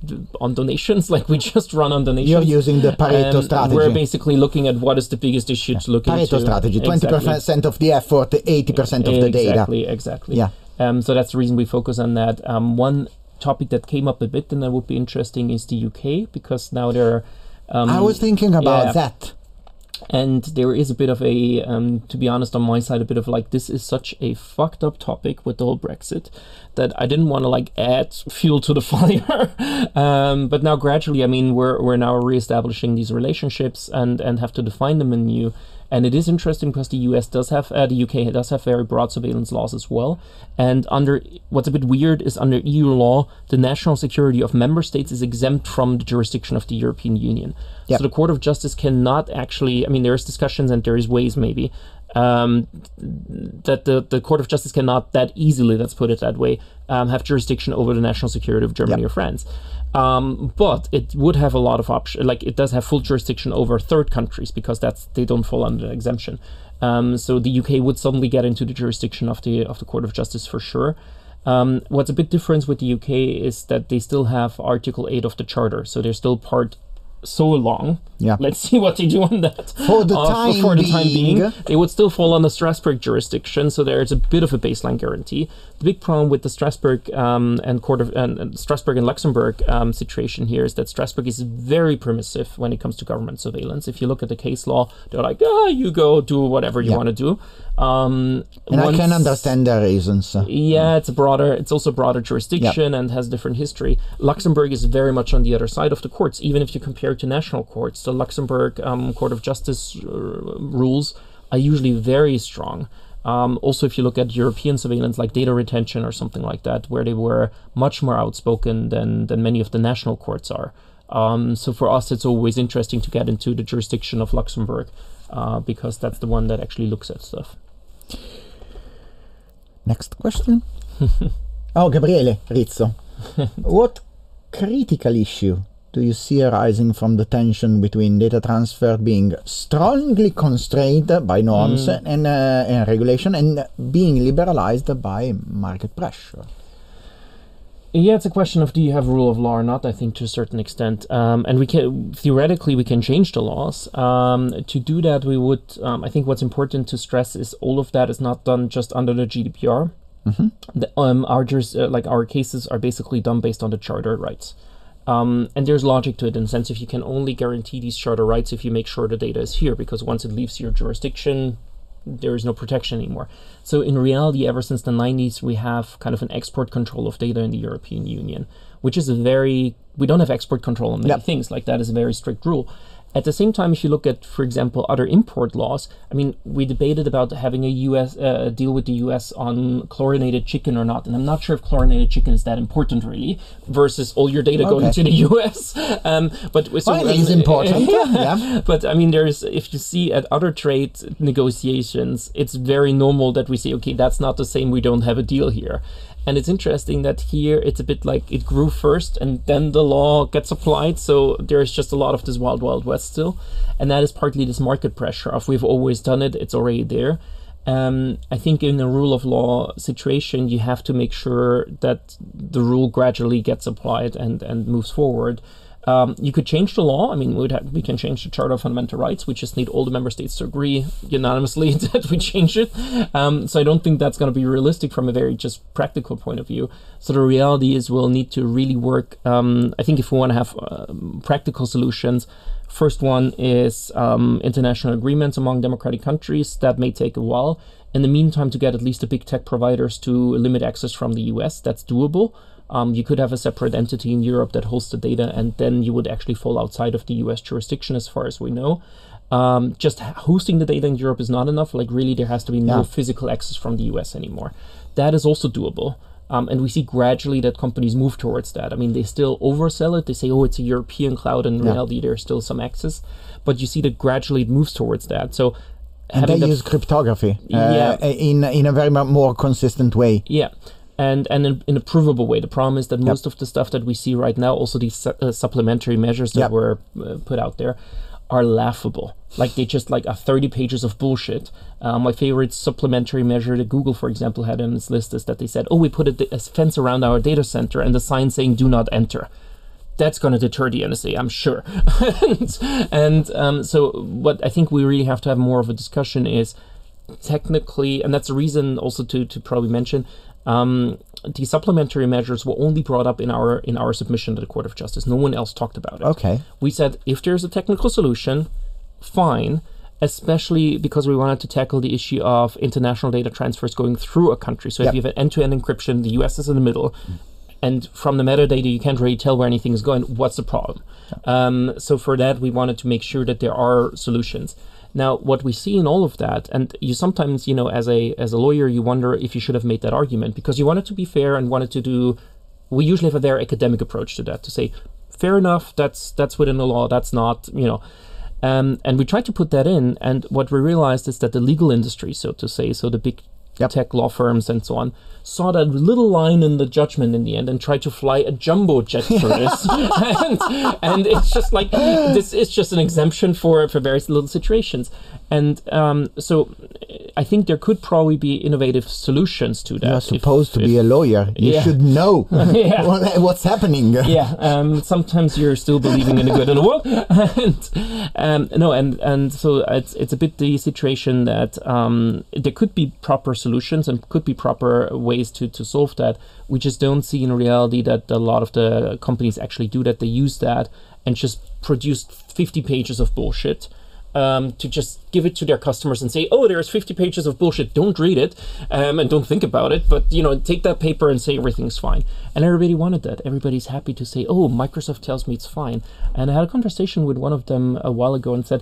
H: on donations, like we just run on donations.
G: You're using the Pareto
H: um,
G: strategy.
H: We're basically looking at what is the biggest issue yeah. to look
G: Pareto
H: into.
G: Pareto strategy, twenty percent exactly. of the effort, eighty percent of the
H: exactly,
G: data.
H: Exactly, exactly.
G: Yeah.
H: Um, so that's the reason we focus on that. Um, one topic that came up a bit and that would be interesting is the U K, because now there um,
G: I was thinking about
H: yeah,
G: that.
H: And there is a bit of a, um, to be honest, on my side, a bit of like, this is such a fucked up topic with the whole Brexit that I didn't want to like add fuel to the fire. um, but now gradually, I mean, we're we're now reestablishing these relationships and, and have to define them anew. And it is interesting because the U S does have, uh, the U K does have very broad surveillance laws as well. And under, what's a bit weird is under E U law, the national security of member states is exempt from the jurisdiction of the European Union. Yep. So the Court of Justice cannot actually, I mean, there's discussions and there is ways maybe, um, that the, the Court of Justice cannot that easily, let's put it that way, um, have jurisdiction over the national security of Germany yep. or France. Um, but it would have a lot of options, like it does have full jurisdiction over third countries because that's they don't fall under exemption. Um, so the U K would suddenly get into the jurisdiction of the of the Court of Justice for sure. Um, what's a big difference with the U K is that they still have Article eight of the Charter, so they're still part so long.
G: Yeah.
H: Let's see what they do on that.
G: For the
H: Uh,
G: time
H: for the time
G: being.
H: being, they would still fall under Strasbourg jurisdiction, so there's a bit of a baseline guarantee. The big problem with the Strasbourg um, and Court of and, and Strasbourg and Luxembourg um, situation here is that Strasbourg is very permissive when it comes to government surveillance. If you look at the case law, they're like, ah, you go do whatever you
G: Yeah.
H: want to do. Um,
G: And
H: once-
G: I can understand the reasons.
H: yeah, it's a broader, it's also a broader jurisdiction and has different history. Luxembourg is very much on the other side of the courts. Even if you compare it to national courts, the Luxembourg um, Court of Justice uh, rules are usually very strong. Um, also, if you look at European surveillance, like data retention or something like that, where they were much more outspoken than than many of the national courts are. Um, so for us, it's always interesting to get into the jurisdiction of Luxembourg uh, because that's the one that actually looks at stuff.
G: Next question. Oh, Gabriele Rizzo. What critical issue do you see arising from the tension between data transfer being strongly constrained by norms
H: Mm.
G: and, uh, and regulation and being liberalized by market pressure?
H: Yeah, it's a question of do you have rule of law or not, I think, to a certain extent. Um, and we can, theoretically, we can change the laws. Um, to do that, we would, um, I think what's important to stress is all of that is not done just under the G D P R.
G: Mm-hmm.
H: The, um, our, juris, uh, like our cases are basically done based on the charter rights. Um, and there's logic to it in the sense if you can only guarantee these charter rights if you make sure the data is here, because once it leaves your jurisdiction, there is no protection anymore. So in reality, ever since the nineties, we have kind of an export control of data in the European Union, which is a very, we don't have export control on many
G: Yep.
H: things, like that is a very strict rule. At the same time, if you look at, for example, other import laws, I mean, we debated about having a U S uh, deal with the U S on chlorinated chicken or not, and I'm not sure if chlorinated chicken is that important really, versus all your data going
G: Okay.
H: to the U S. Um, but so,
G: Well, it is important, yeah.
H: But I mean, there's if you see at other trade negotiations, it's very normal that we say, okay, that's not the same. We don't have a deal here. And it's interesting that here it's a bit like it grew first and then the law gets applied. So there's just a lot of this wild, wild west still. And that is partly this market pressure of we've always done it, it's already there. Um, I think in a rule of law situation, you have to make sure that the rule gradually gets applied and, and moves forward. Um, you could change the law. I mean, we'd have, we can change the Charter of Fundamental Rights. We just need all the member states to agree unanimously that we change it. Um, so I don't think that's going to be realistic from a very just practical point of view. So the reality is we'll need to really work. Um, I think if we want to have um, practical solutions, first one is um, international agreements among democratic countries. That may take a while. In the meantime, to get at least the big tech providers to limit access from the U S, that's doable. Um, you could have a separate entity in Europe that hosts the data, and then you would actually fall outside of the U S jurisdiction as far as we know. Um, just hosting the data in Europe is not enough. Like really, there has to be no
G: Yeah.
H: physical access from the U S anymore. That is also doable. Um, and we see gradually that companies move towards that. I mean, they still oversell it. They say, oh, it's a European cloud. And in
G: Yeah.
H: reality, there's still some access. But you see that gradually it moves towards that. So
G: And
H: having
G: they
H: the
G: use cryptography uh,
H: Yeah.
G: in, in a very mu- more consistent way.
H: Yeah, and and in, in a provable way. The problem is that
G: Yep.
H: most of the stuff that we see right now, also these su- uh, supplementary measures that
G: Yep.
H: were uh, put out there, are laughable. Like they just like are thirty pages of bullshit. Uh, my favorite supplementary measure that Google, for example, had on its list is that they said, oh, we put a, a fence around our data center and the sign saying do not enter. That's going to deter the N S A, I'm sure. and and um, so what I think we really have to have more of a discussion is technically, and that's a reason also to, to probably mention, um, the supplementary measures were only brought up in our in our submission to the Court of Justice. No one else talked about it.
G: Okay.
H: We said if there's a technical solution, fine, especially because we wanted to tackle the issue of international data transfers going through a country. So
G: Yep.
H: if you have an end-to-end encryption, the U S is in the middle, and from the metadata you can't really tell where anything is going, what's the problem? Um, so for that, we wanted to make sure that there are solutions. Now, what we see in all of that, and you sometimes, you know, as a as a lawyer, you wonder if you should have made that argument because you wanted to be fair and wanted to do. We usually have a very academic approach to that, to say, fair enough, that's that's within the law, that's not, you know. Um, and we tried to put that in, and what we realized is that the legal industry, so to say, so the big
G: yep.
H: tech law firms and so on, saw that little line in the judgment in the end and tried to fly a jumbo jet for this. and, and it's just like, this is just an exemption for, for various little situations. And um, so I think there could probably be innovative solutions to that.
G: You're supposed
H: if,
G: to be
H: if,
G: a lawyer. You
H: yeah.
G: should know
H: yeah.
G: what, what's happening.
H: yeah, um, sometimes you're still believing in the good in the world. and, um, no, and, and so it's, it's a bit the situation that um, there could be proper solutions and could be proper ways to, to solve that. We just don't see in reality that a lot of the companies actually do that. They use that and just produce fifty pages of bullshit um, to just give it to their customers and say, oh, there's fifty pages of bullshit. Don't read it um, and don't think about it. But, you know, take that paper and say everything's fine. And everybody wanted that. Everybody's happy to say, oh, Microsoft tells me it's fine. And I had a conversation with one of them a while ago and said,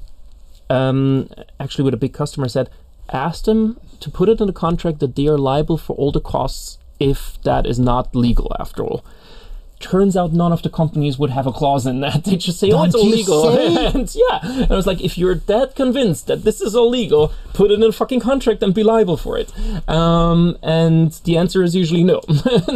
H: um, actually with a big customer, said, ask them to put it in the contract that they are liable for all the costs if that is not legal after all. Turns out none of the companies would have a clause in that. They just say,
G: Don't
H: oh, it's illegal. and yeah, and I was like, if you're that convinced that this is illegal, put it in a fucking contract and be liable for it. Um, and the answer is usually no.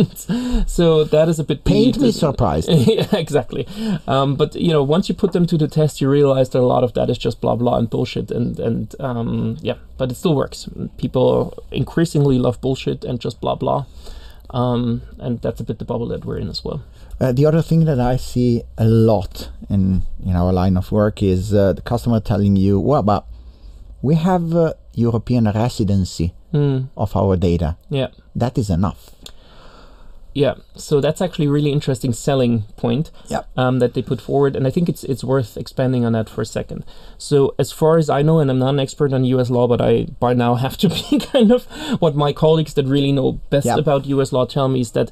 H: So that is a bit...
G: Paint me surprised.
H: Yeah, exactly. Um, but, you know, once you put them to the test, you realize that a lot of that is just blah, blah, and bullshit. And, and um, yeah, but it still works. People increasingly love bullshit and just blah, blah. Um, and that's a bit the bubble that we're in as well.
G: Uh, the other thing that I see a lot in, in our line of work is uh, the customer telling you, well, but we have uh, European residency
H: mm.
G: of our data.
H: Yeah.
G: That is enough.
H: Yeah, so that's actually a really interesting selling point
G: yep.
H: um, that they put forward, and I think it's it's worth expanding on that for a second. So as far as I know, and I'm not an expert on U S law, but I by now have to be kind of what my colleagues that really know best
G: yep.
H: about U S law tell me is that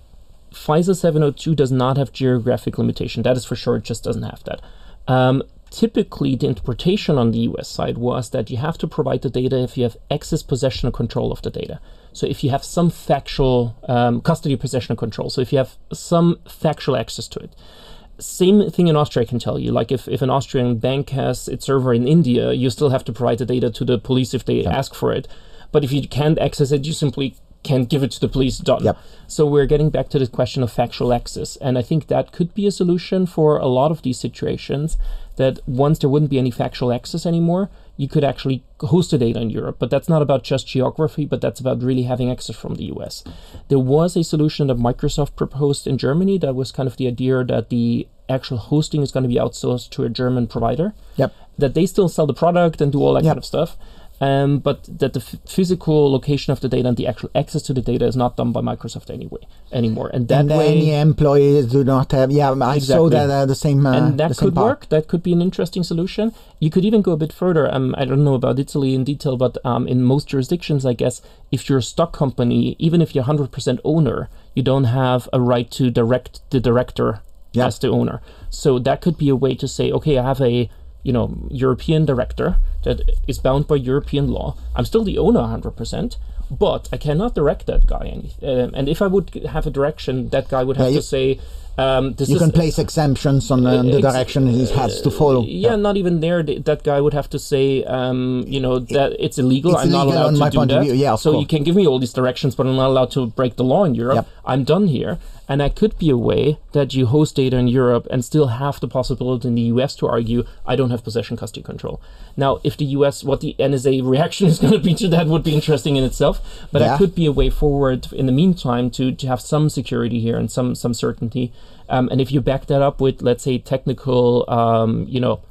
H: FISA seven oh two does not have geographic limitation. That is for sure, it just doesn't have that. Um, typically, the interpretation on the U S side was that you have to provide the data if you have access, possession, or control of the data. So if you have some factual um, custody, possession, or control, so if you have some factual access to it. Same thing in Austria, I can tell you. Like if, if an Austrian bank has its server in India, you still have to provide the data to the police if they
G: yeah.
H: ask for it. But if you can't access it, you simply can't give it to the police, done.
G: Yep.
H: So we're getting back to the question of factual access. And I think that could be a solution for a lot of these situations, that once there wouldn't be any factual access anymore, you could actually host the data in Europe. But that's not about just geography, but that's about really having access from the U S. There was a solution that Microsoft proposed in Germany that was kind of the idea that the actual hosting is going to be outsourced to a German provider.
G: Yep.
H: That they still sell the product and do all that
G: yep.
H: kind of stuff. Um, but that the f- physical location of the data and the actual access to the data is not done by Microsoft anyway anymore, and that
G: and
H: way
G: any employees do not have. Yeah, I
H: exactly.
G: saw that uh, the same. Uh,
H: and that
G: the same
H: could
G: part.
H: work. That could be an interesting solution. You could even go a bit further. Um, I don't know about Italy in detail, but um, in most jurisdictions, I guess, if you're a stock company, even if you're one hundred percent owner, you don't have a right to direct the director
G: yeah.
H: as the owner. So that could be a way to say, okay, I have a you know, European director that is bound by European law. I'm still the owner one hundred percent, but I cannot direct that guy. Any, um, and if I would have a direction, that guy would have
G: yeah, you,
H: to say, um, this
G: you
H: is...
G: can place exemptions on uh, the
H: ex-
G: direction he has to follow.
H: Yeah, yeah, not even there. Th- that guy would have to say, um, you know, that it's illegal.
G: It's
H: I'm not
G: illegal
H: allowed
G: on
H: to
G: my
H: do
G: point
H: that.
G: Of view. Yeah, of
H: so
G: course.
H: you can give me all these directions, but I'm not allowed to break the law in Europe.
G: Yep.
H: I'm done here. And that could be a way that you host data in Europe and still have the possibility in the U S to argue, I don't have possession, custody, control. Now, if the U S, what the N S A reaction is going to be to that would be interesting in itself. But
G: yeah.
H: that could be a way forward in the meantime to, to have some security here and some, some certainty. Um, and if you back that up with, let's say, technical, um, you know,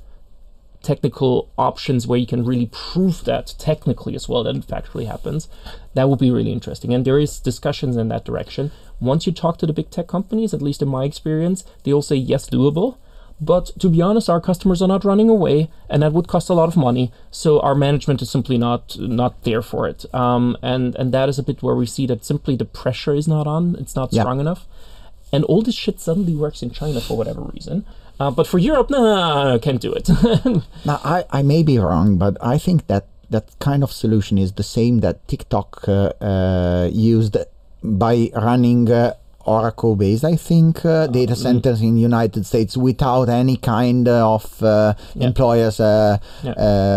H: technical options where you can really prove that technically as well that it factually happens, that would be really interesting. And there is discussions in that direction. Once you talk to the big tech companies, at least in my experience, they all say yes, doable. But to be honest, our customers are not running away, and that would cost a lot of money. So our management is simply not not there for it. Um, and and that is a bit where we see that simply the pressure is not on. It's not
G: yeah.
H: strong enough. And all this shit suddenly works in China for whatever reason. Uh, but for Europe, no, nah, no, no, can't do it.
G: Now, I, I may be wrong, but I think that that kind of solution is the same that TikTok uh, uh, used by running uh, Oracle based, I think, uh, data centers mm. in the United States without any kind of uh, yeah. employers, uh, yeah.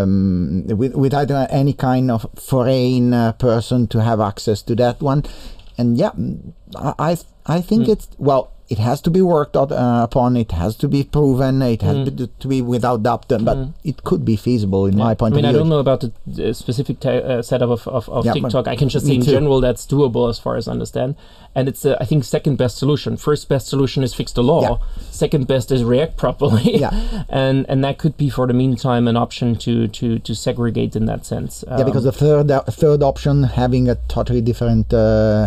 G: um, with, without any kind of foreign uh, person to have access to that one. And yeah, I I think mm. it's, well, it has to be worked out, uh, upon, it has to be proven, it has mm. to, to be without doubt, but mm. it could be feasible in yeah. my point
H: I mean,
G: of view.
H: I don't know about the, the specific ta- uh, setup of, of, of yeah, TikTok. I can just say in
G: too.
H: general that's doable as far as I understand. And it's, uh, I think, second best solution. First best solution is fix the law. Yeah. Second best is react properly. Yeah. and and that could be for the meantime an option to to, to segregate in that sense. Um,
G: yeah, because the third uh, third option, having a totally different uh,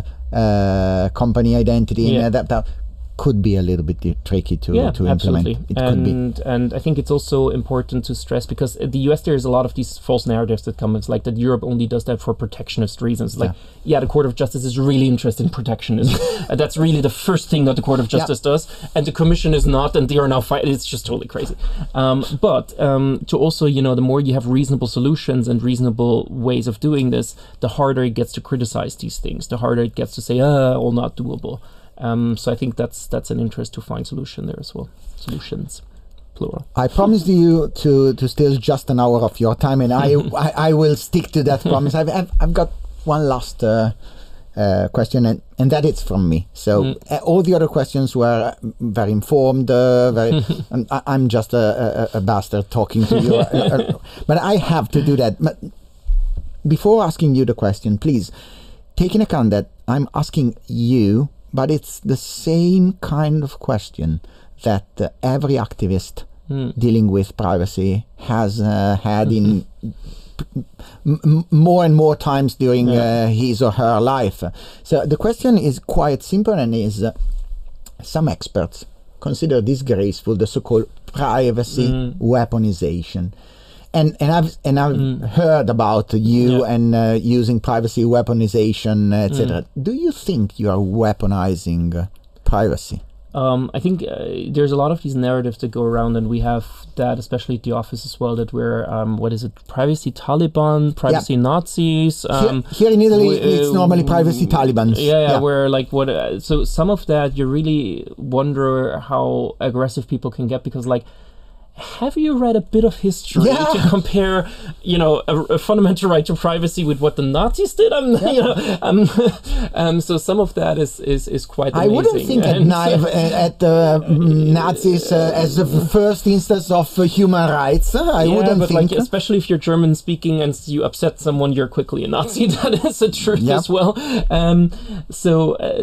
G: uh, company identity yeah. and that, that could be a little bit tricky to,
H: yeah,
G: to
H: absolutely.
G: implement. It
H: and,
G: could be.
H: And I think it's also important to stress, because in the U S there's a lot of these false narratives that come. It's like that Europe only does that for protectionist reasons. Like, yeah, yeah the Court of Justice is really interested in protectionism. And that's really the first thing that the Court of Justice yeah. does. And the Commission is not, and they are now fighting. It's just totally crazy. Um, but um, to also, you know, the more you have reasonable solutions and reasonable ways of doing this, the harder it gets to criticize these things. The harder it gets to say, ah, all not doable. Um, so I think that's that's an interest to find solution there as well. Solutions, plural.
G: I promised you to, to steal just an hour of your time, and I, I I will stick to that promise. I've I've, I've got one last uh, uh, question, and, and that is from me. So mm. uh, all the other questions were very informed. Uh, very, and I, I'm just a, a, a bastard talking to you, uh, uh, but I have to do that. But before asking you the question, please take in account that I'm asking you. But it's the same kind of question that uh, every activist mm. dealing with privacy has uh, had in p- m- more and more times during yeah. uh, his or her life. So the question is quite simple, and is uh, some experts consider disgraceful the so-called privacy mm. weaponization. And and I've and I've mm. heard about you yeah. and uh, using privacy weaponization, et cetera. Mm. Do you think you are weaponizing uh, privacy?
H: Um, I think uh, there's a lot of these narratives that go around, and we have that, especially at the office as well, that we're um, what is it? Privacy Taliban, privacy yeah. Nazis. Um,
G: here, here in Italy, we, uh, it's normally privacy Taliban.
H: Yeah, yeah, yeah. Where like what? Uh, so some of that you really wonder how aggressive people can get, because like. Have you read a bit of history yeah. to compare, you know, a, a fundamental right to privacy with what the Nazis did? Um, yeah. you know, um, um, so some of that is is, is quite amazing.
G: I wouldn't think and at, uh, at the uh, Nazis uh, as the first instance of uh, human rights. I
H: yeah,
G: wouldn't
H: but
G: think.
H: Like, especially if you're German speaking and you upset someone, you're quickly a Nazi. That is the truth yeah. as well. Um, so uh,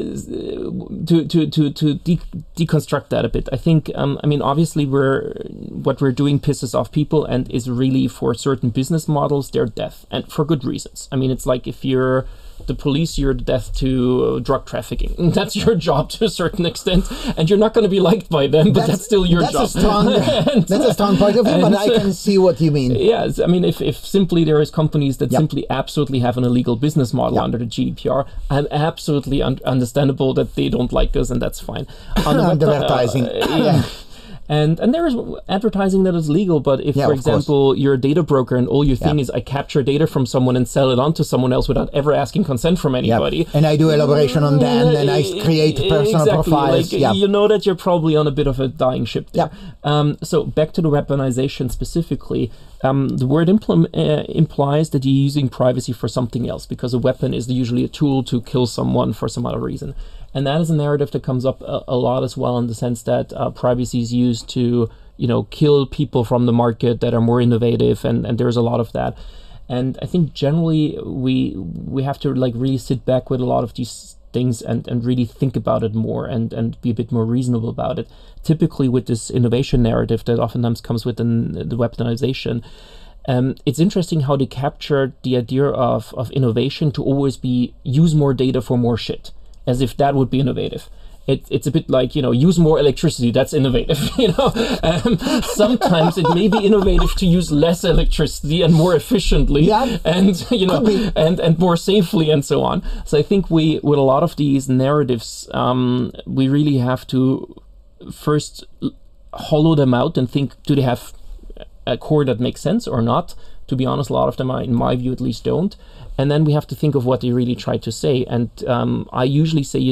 H: to to to to de- deconstruct that a bit, I think. Um, I mean, obviously we're. What we're doing pisses off people and is really for certain business models, they're death, and for good reasons. I mean, it's like if you're the police, you're death to drug trafficking. That's your job to a certain extent, and you're not going to be liked by them, but that's, that's still your
G: that's
H: job.
G: A strong, and, that's a strong point of view, but I can see what you mean.
H: Yes, I mean, if, if simply there is companies that yep. simply absolutely have an illegal business model yep. under the G D P R, I'm absolutely un- understandable that they don't like us, and that's fine. On the
G: advertising.
H: Uh, yeah. And and there is advertising that is legal, but if, yeah, for example, course. you're a data broker and all your thing yeah. is I capture data from someone and sell it on to someone else without ever asking consent from anybody.
G: Yep. And I do elaboration on them and I create personal
H: exactly.
G: profiles.
H: Like,
G: yeah.
H: You know that you're probably on a bit of a dying ship there. Yep. Um, so back to the weaponization specifically. Um, the word impl- uh, implies that you're using privacy for something else, because a weapon is usually a tool to kill someone for some other reason. And that is a narrative that comes up a, a lot as well, in the sense that uh, privacy is used to, you know, kill people from the market that are more innovative, and, and there's a lot of that. And I think generally we we have to like really sit back with a lot of these things and, and really think about it more and, and be a bit more reasonable about it. Typically with this innovation narrative that oftentimes comes with an, the weaponization, Um, it's interesting how they captured the idea of, of innovation to always be use more data for more shit, as if that would be innovative. It, it's a bit like, you know, use more electricity, that's innovative, you know. Um, sometimes it may be innovative to use less electricity and more efficiently yeah. and, you know, and, and more safely and so on. So I think we, with a lot of these narratives, um, we really have to first hollow them out and think, do they have a core that makes sense or not? To be honest, a lot of them, are, in my view at least, don't. And then we have to think of what they really try to say. And um, I usually say, you know,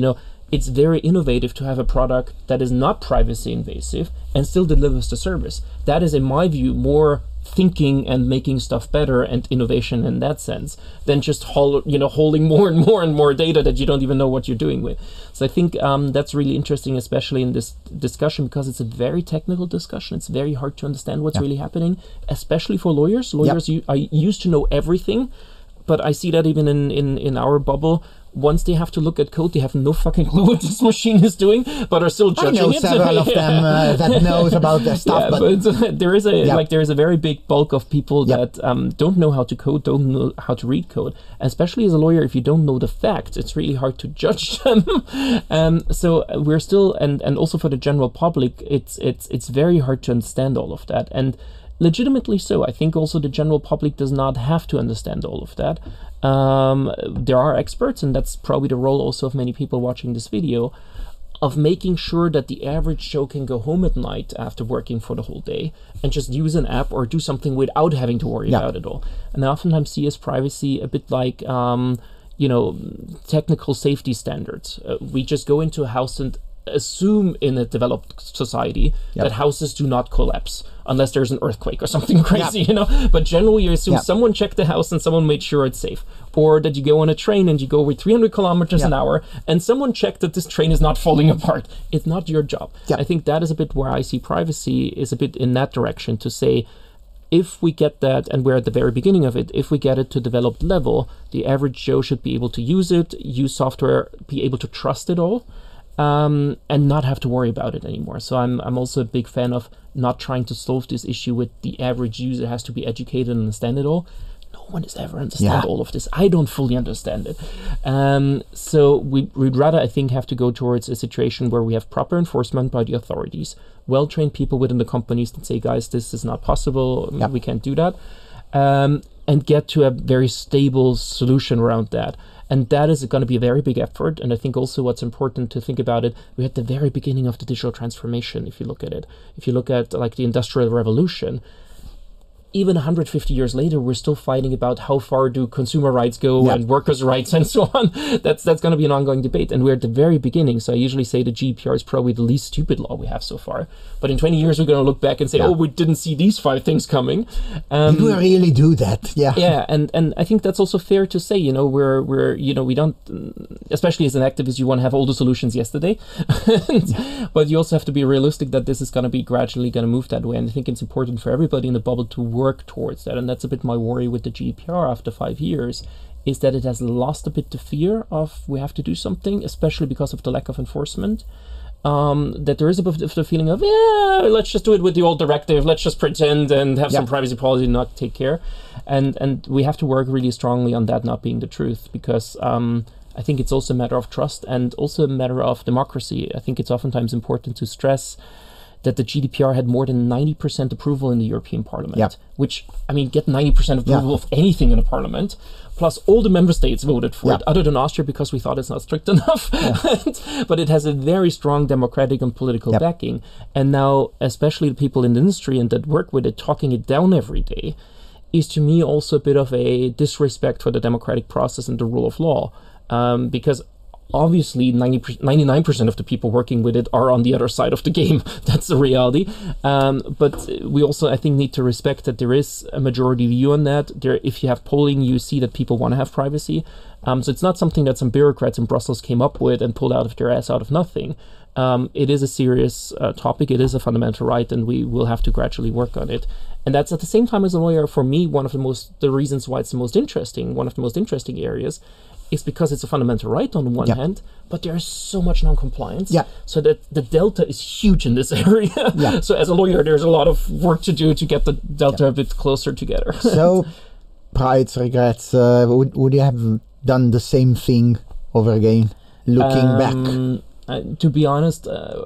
H: it's very innovative to have a product that is not privacy invasive and still delivers the service. That is, in my view, more thinking and making stuff better and innovation in that sense than just hol- you know holding more and more and more data that you don't even know what you're doing with. So I think um, that's really interesting, especially in this discussion, because it's a very technical discussion. It's very hard to understand what's yeah. really happening, especially for lawyers. Lawyers yep. are used to know everything, but I see that even in, in, in our bubble. Once they have to look at code, they have no fucking clue what this machine is doing, but are still judging
G: I know
H: it.
G: several of them uh, that knows about their stuff.
H: Yeah,
G: but,
H: but uh, there is a
G: yep.
H: like there is a very big bulk of people
G: yep.
H: that um, don't know how to code, don't know how to read code. Especially as a lawyer, if you don't know the facts, it's really hard to judge them. um, so we're still, and and also for the general public, it's it's it's very hard to understand all of that. And legitimately so. I think also the general public does not have to understand all of that. Um, there are experts, and that's probably the role also of many people watching this video, of making sure that the average Joe can go home at night after working for the whole day and just use an app or do something without having to worry yeah. about it all. And I oftentimes see as privacy a bit like, um, you know, technical safety standards. Uh, we just go into a house and assume in a developed society yep. that houses do not collapse unless there's an earthquake or something crazy, yep. you know. But generally, you assume yep. someone checked the house and someone made sure it's safe, or that you go on a train and you go with three hundred kilometers yep. an hour and someone checked that this train is not falling apart. It's not your job. Yep. I think that is a bit where I see privacy is a bit in that direction, to say, if we get that, and we're at the very beginning of it, if we get it to developed level, the average Joe should be able to use it, use software, be able to trust it all. Um, and not have to worry about it anymore. So I'm I'm also a big fan of not trying to solve this issue with the average user has to be educated and understand it all. No one has ever understand yeah. all of this. I don't fully understand it. Um, so we, we'd rather, I think, have to go towards a situation where we have proper enforcement by the authorities, well-trained people within the companies that say, guys, this is not possible, yep. we can't do that, um, and get to a very stable solution around that. And that is going to be a very big effort. And I think also what's important to think about it, we're at the very beginning of the digital transformation, if you look at it. If you look at like the Industrial Revolution, even one hundred fifty years later, we're still fighting about how far do consumer rights go yeah. and workers' rights and so on. That's that's going to be an ongoing debate. And we're at the very beginning. So I usually say the G D P R is probably the least stupid law we have so far. But in twenty years, we're going to look back and say, yeah. oh, we didn't see these five things coming. Um,
G: Did we really do that? Yeah.
H: Yeah. And, and I think that's also fair to say, you know, we're, we're, you know, we don't, especially as an activist, you want to have all the solutions yesterday. yeah. But you also have to be realistic that this is going to be gradually going to move that way. And I think it's important for everybody in the bubble to work work towards that. And that's a bit my worry with the G D P R after five years, is that it has lost a bit the fear of we have to do something, especially because of the lack of enforcement. Um, that there is a bit of the feeling of, yeah, let's just do it with the old directive, let's just pretend and have yeah. some privacy policy and not take care. And and we have to work really strongly on that not being the truth, because um, I think it's also a matter of trust and also a matter of democracy. I think it's oftentimes important to stress that the G D P R had more than ninety percent approval in the European Parliament, yep. which, I mean, get ninety percent approval yeah. of anything in a parliament, plus all the member states voted for yep. it, other than Austria, because we thought it's not strict enough. Yeah. But it has a very strong democratic and political yep. backing. And now, especially the people in the industry and that work with it, talking it down every day, is to me also a bit of a disrespect for the democratic process and the rule of law. Um, because obviously ninety, ninety-nine percent of the people working with it are on the other side of the game. That's the reality. Um, but we also, I think, need to respect that there is a majority view on that. There, if you have polling, you see that people want to have privacy. Um, so it's not something that some bureaucrats in Brussels came up with and pulled out of their ass out of nothing. Um, it is a serious uh, topic. It is a fundamental right, and we will have to gradually work on it. And that's at the same time, as a lawyer, for me, one of the most, the reasons why it's the most interesting, one of the most interesting areas, is because it's a fundamental right on one yeah. hand, but there's so much non-compliance. Yeah. So that the delta is huge in this area. Yeah. So as a lawyer, there's a lot of work to do to get the delta yeah. a bit closer together.
G: So, prides, regrets, uh, would, would you have done the same thing over again, looking um, back?
H: Uh, to be honest, uh,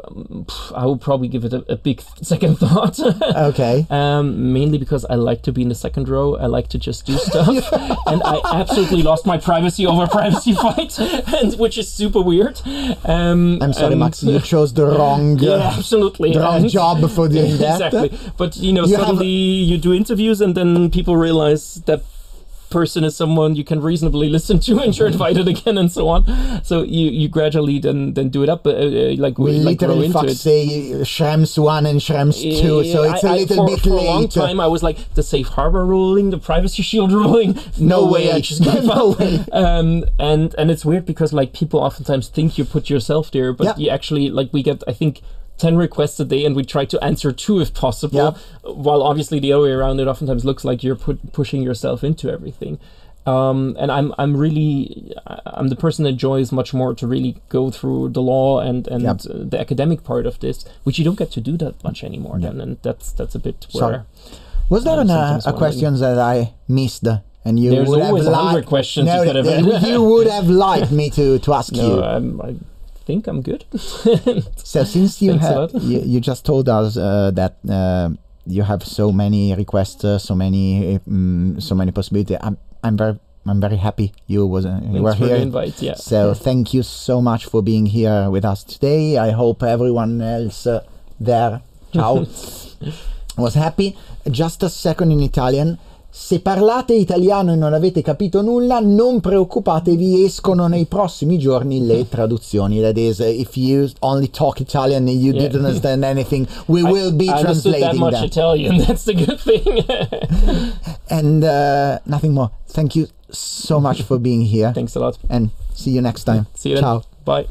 H: I would probably give it a, a big second thought.
G: Okay.
H: Um, mainly because I like to be in the second row. I like to just do stuff. And I absolutely lost my privacy over a privacy fight, and, which is super weird. Um,
G: I'm sorry, Max, you chose the wrong, uh,
H: yeah, absolutely.
G: The wrong and, job before doing
H: yeah,
G: that.
H: Exactly. But, you know, you suddenly have... you do interviews and then people realize that person is someone you can reasonably listen to, and you're invited again, and so on. So you, you gradually then then do it up, uh, uh, like
G: we
H: like
G: literally
H: grow into
G: fuck
H: it.
G: say Schrems one and Schrems two, so it's a
H: I,
G: little
H: I, for,
G: bit
H: for
G: late.
H: For a long time, I was like, the safe harbor ruling, the privacy shield ruling. No,
G: no
H: way,
G: way.
H: I just gave
G: no
H: up.
G: way.
H: Um, and and it's weird because like people oftentimes think you put yourself there, but
G: yeah.
H: you actually like we get I think ten requests a day, and we try to answer two if possible.
G: Yeah.
H: While obviously the other way around, it oftentimes looks like you're put, pushing yourself into everything. Um, and I'm I'm really I'm the person that enjoys much more to really go through the law and and
G: yep.
H: uh, the academic part of this, which you don't get to do that much anymore. Yep. Then, and that's that's a bit where.
G: Sorry. Was there
H: um,
G: an, uh, a question that I missed? And you
H: There's
G: would
H: always
G: have
H: a hundred
G: liked,
H: questions
G: no,
H: you could have.
G: you would have liked me to to ask
H: no,
G: you.
H: I'm, I think I'm good.
G: So since you
H: Thanks a
G: have
H: lot.
G: you, you just told us uh, that uh, you have so many requests, uh, so many um, so many possibilities. I'm I'm very I'm very happy you was uh, you
H: Thanks
G: were
H: for
G: here.
H: the invite, yeah.
G: So thank you so much for being here with us today. I hope everyone else uh, there, ciao, was happy. Just a second in Italian. Se parlate italiano e non avete capito nulla, non preoccupatevi, escono nei prossimi giorni le traduzioni. That is, uh, if you only talk Italian and you
H: Yeah.
G: didn't understand anything, we
H: I,
G: will be
H: I understood
G: translating
H: that much
G: them.
H: Italian. That's the good thing.
G: And uh, nothing more. Thank you so much for being here.
H: Thanks a lot.
G: And see you next time.
H: See you
G: Ciao.
H: then. Bye.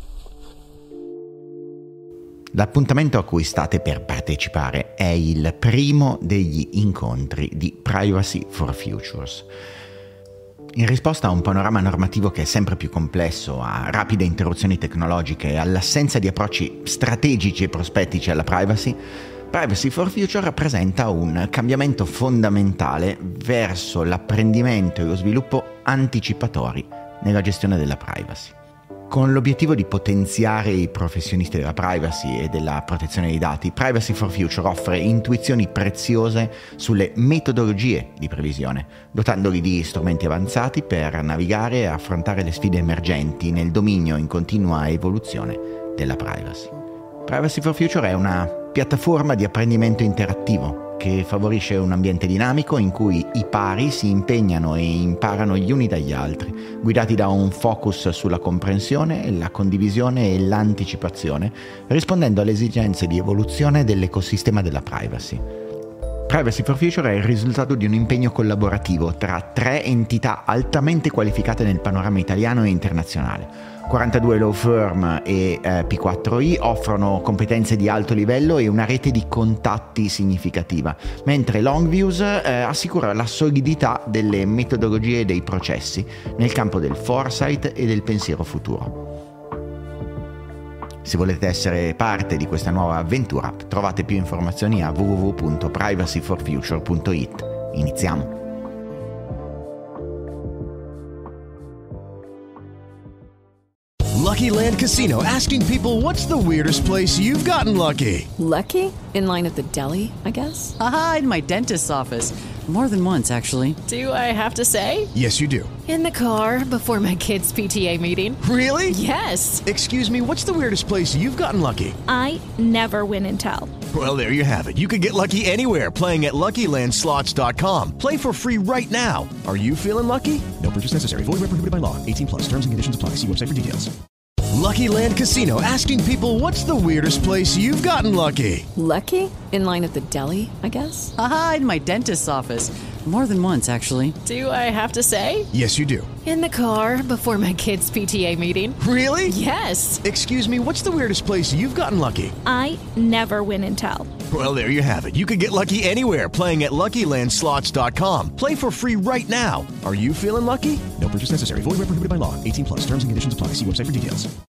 F: L'appuntamento a cui state per partecipare è il primo degli incontri di Privacy for Futures. In risposta a un panorama normativo che è sempre più complesso, a rapide interruzioni tecnologiche e all'assenza di approcci strategici e prospettici alla privacy, Privacy for Future rappresenta un cambiamento fondamentale verso l'apprendimento e lo sviluppo anticipatori nella gestione della privacy. Con l'obiettivo di potenziare i professionisti della privacy e della protezione dei dati, Privacy for Future offre intuizioni preziose sulle metodologie di previsione, dotandoli di strumenti avanzati per navigare e affrontare le sfide emergenti nel dominio in continua evoluzione della privacy. Privacy for Future è una piattaforma di apprendimento interattivo che favorisce un ambiente dinamico in cui i pari si impegnano e imparano gli uni dagli altri, guidati da un focus sulla comprensione, la condivisione e l'anticipazione, rispondendo alle esigenze di evoluzione dell'ecosistema della privacy. Privacy for Future è il risultato di un impegno collaborativo tra tre entità altamente qualificate nel panorama italiano e internazionale. quarantadue law firm e eh, P quattro I offrono competenze di alto livello e una rete di contatti significativa, mentre Longviews eh, assicura la solidità delle metodologie e dei processi nel campo del foresight e del pensiero futuro. Se volete essere parte di questa nuova avventura, trovate più informazioni a w w w punto privacy for future punto i t. Iniziamo!
B: Lucky Land Casino, asking people, what's the weirdest place you've gotten lucky?
C: Lucky? In line at the deli, I guess?
D: Aha, in my dentist's office. More than once, actually.
C: Do I have to say?
B: Yes, you do.
C: In the car before my kids' P T A meeting.
B: Really?
C: Yes.
B: Excuse me, what's the weirdest place you've gotten lucky?
E: I never win and tell.
B: Well, there you have it. You can get lucky anywhere, playing at Lucky Land Slots dot com. Play for free right now. Are you feeling lucky? No purchase necessary. Void where prohibited by law. eighteen plus. Terms and conditions apply. See website for details. Lucky Land Casino, asking people, what's the weirdest place you've gotten lucky?
C: Lucky? In line at the deli, I guess?
D: Aha, in my dentist's office. More than once, actually.
C: Do I have to say?
B: Yes, you do.
C: In the car before my kids' P T A meeting.
B: Really?
C: Yes.
B: Excuse me, what's the weirdest place you've gotten lucky?
E: I never win and tell.
B: Well, there you have it. You can get lucky anywhere, playing at Lucky Land Slots dot com. Play for free right now. Are you feeling lucky? No purchase necessary. Void where prohibited by law. eighteen plus. Terms and conditions apply. See website for details.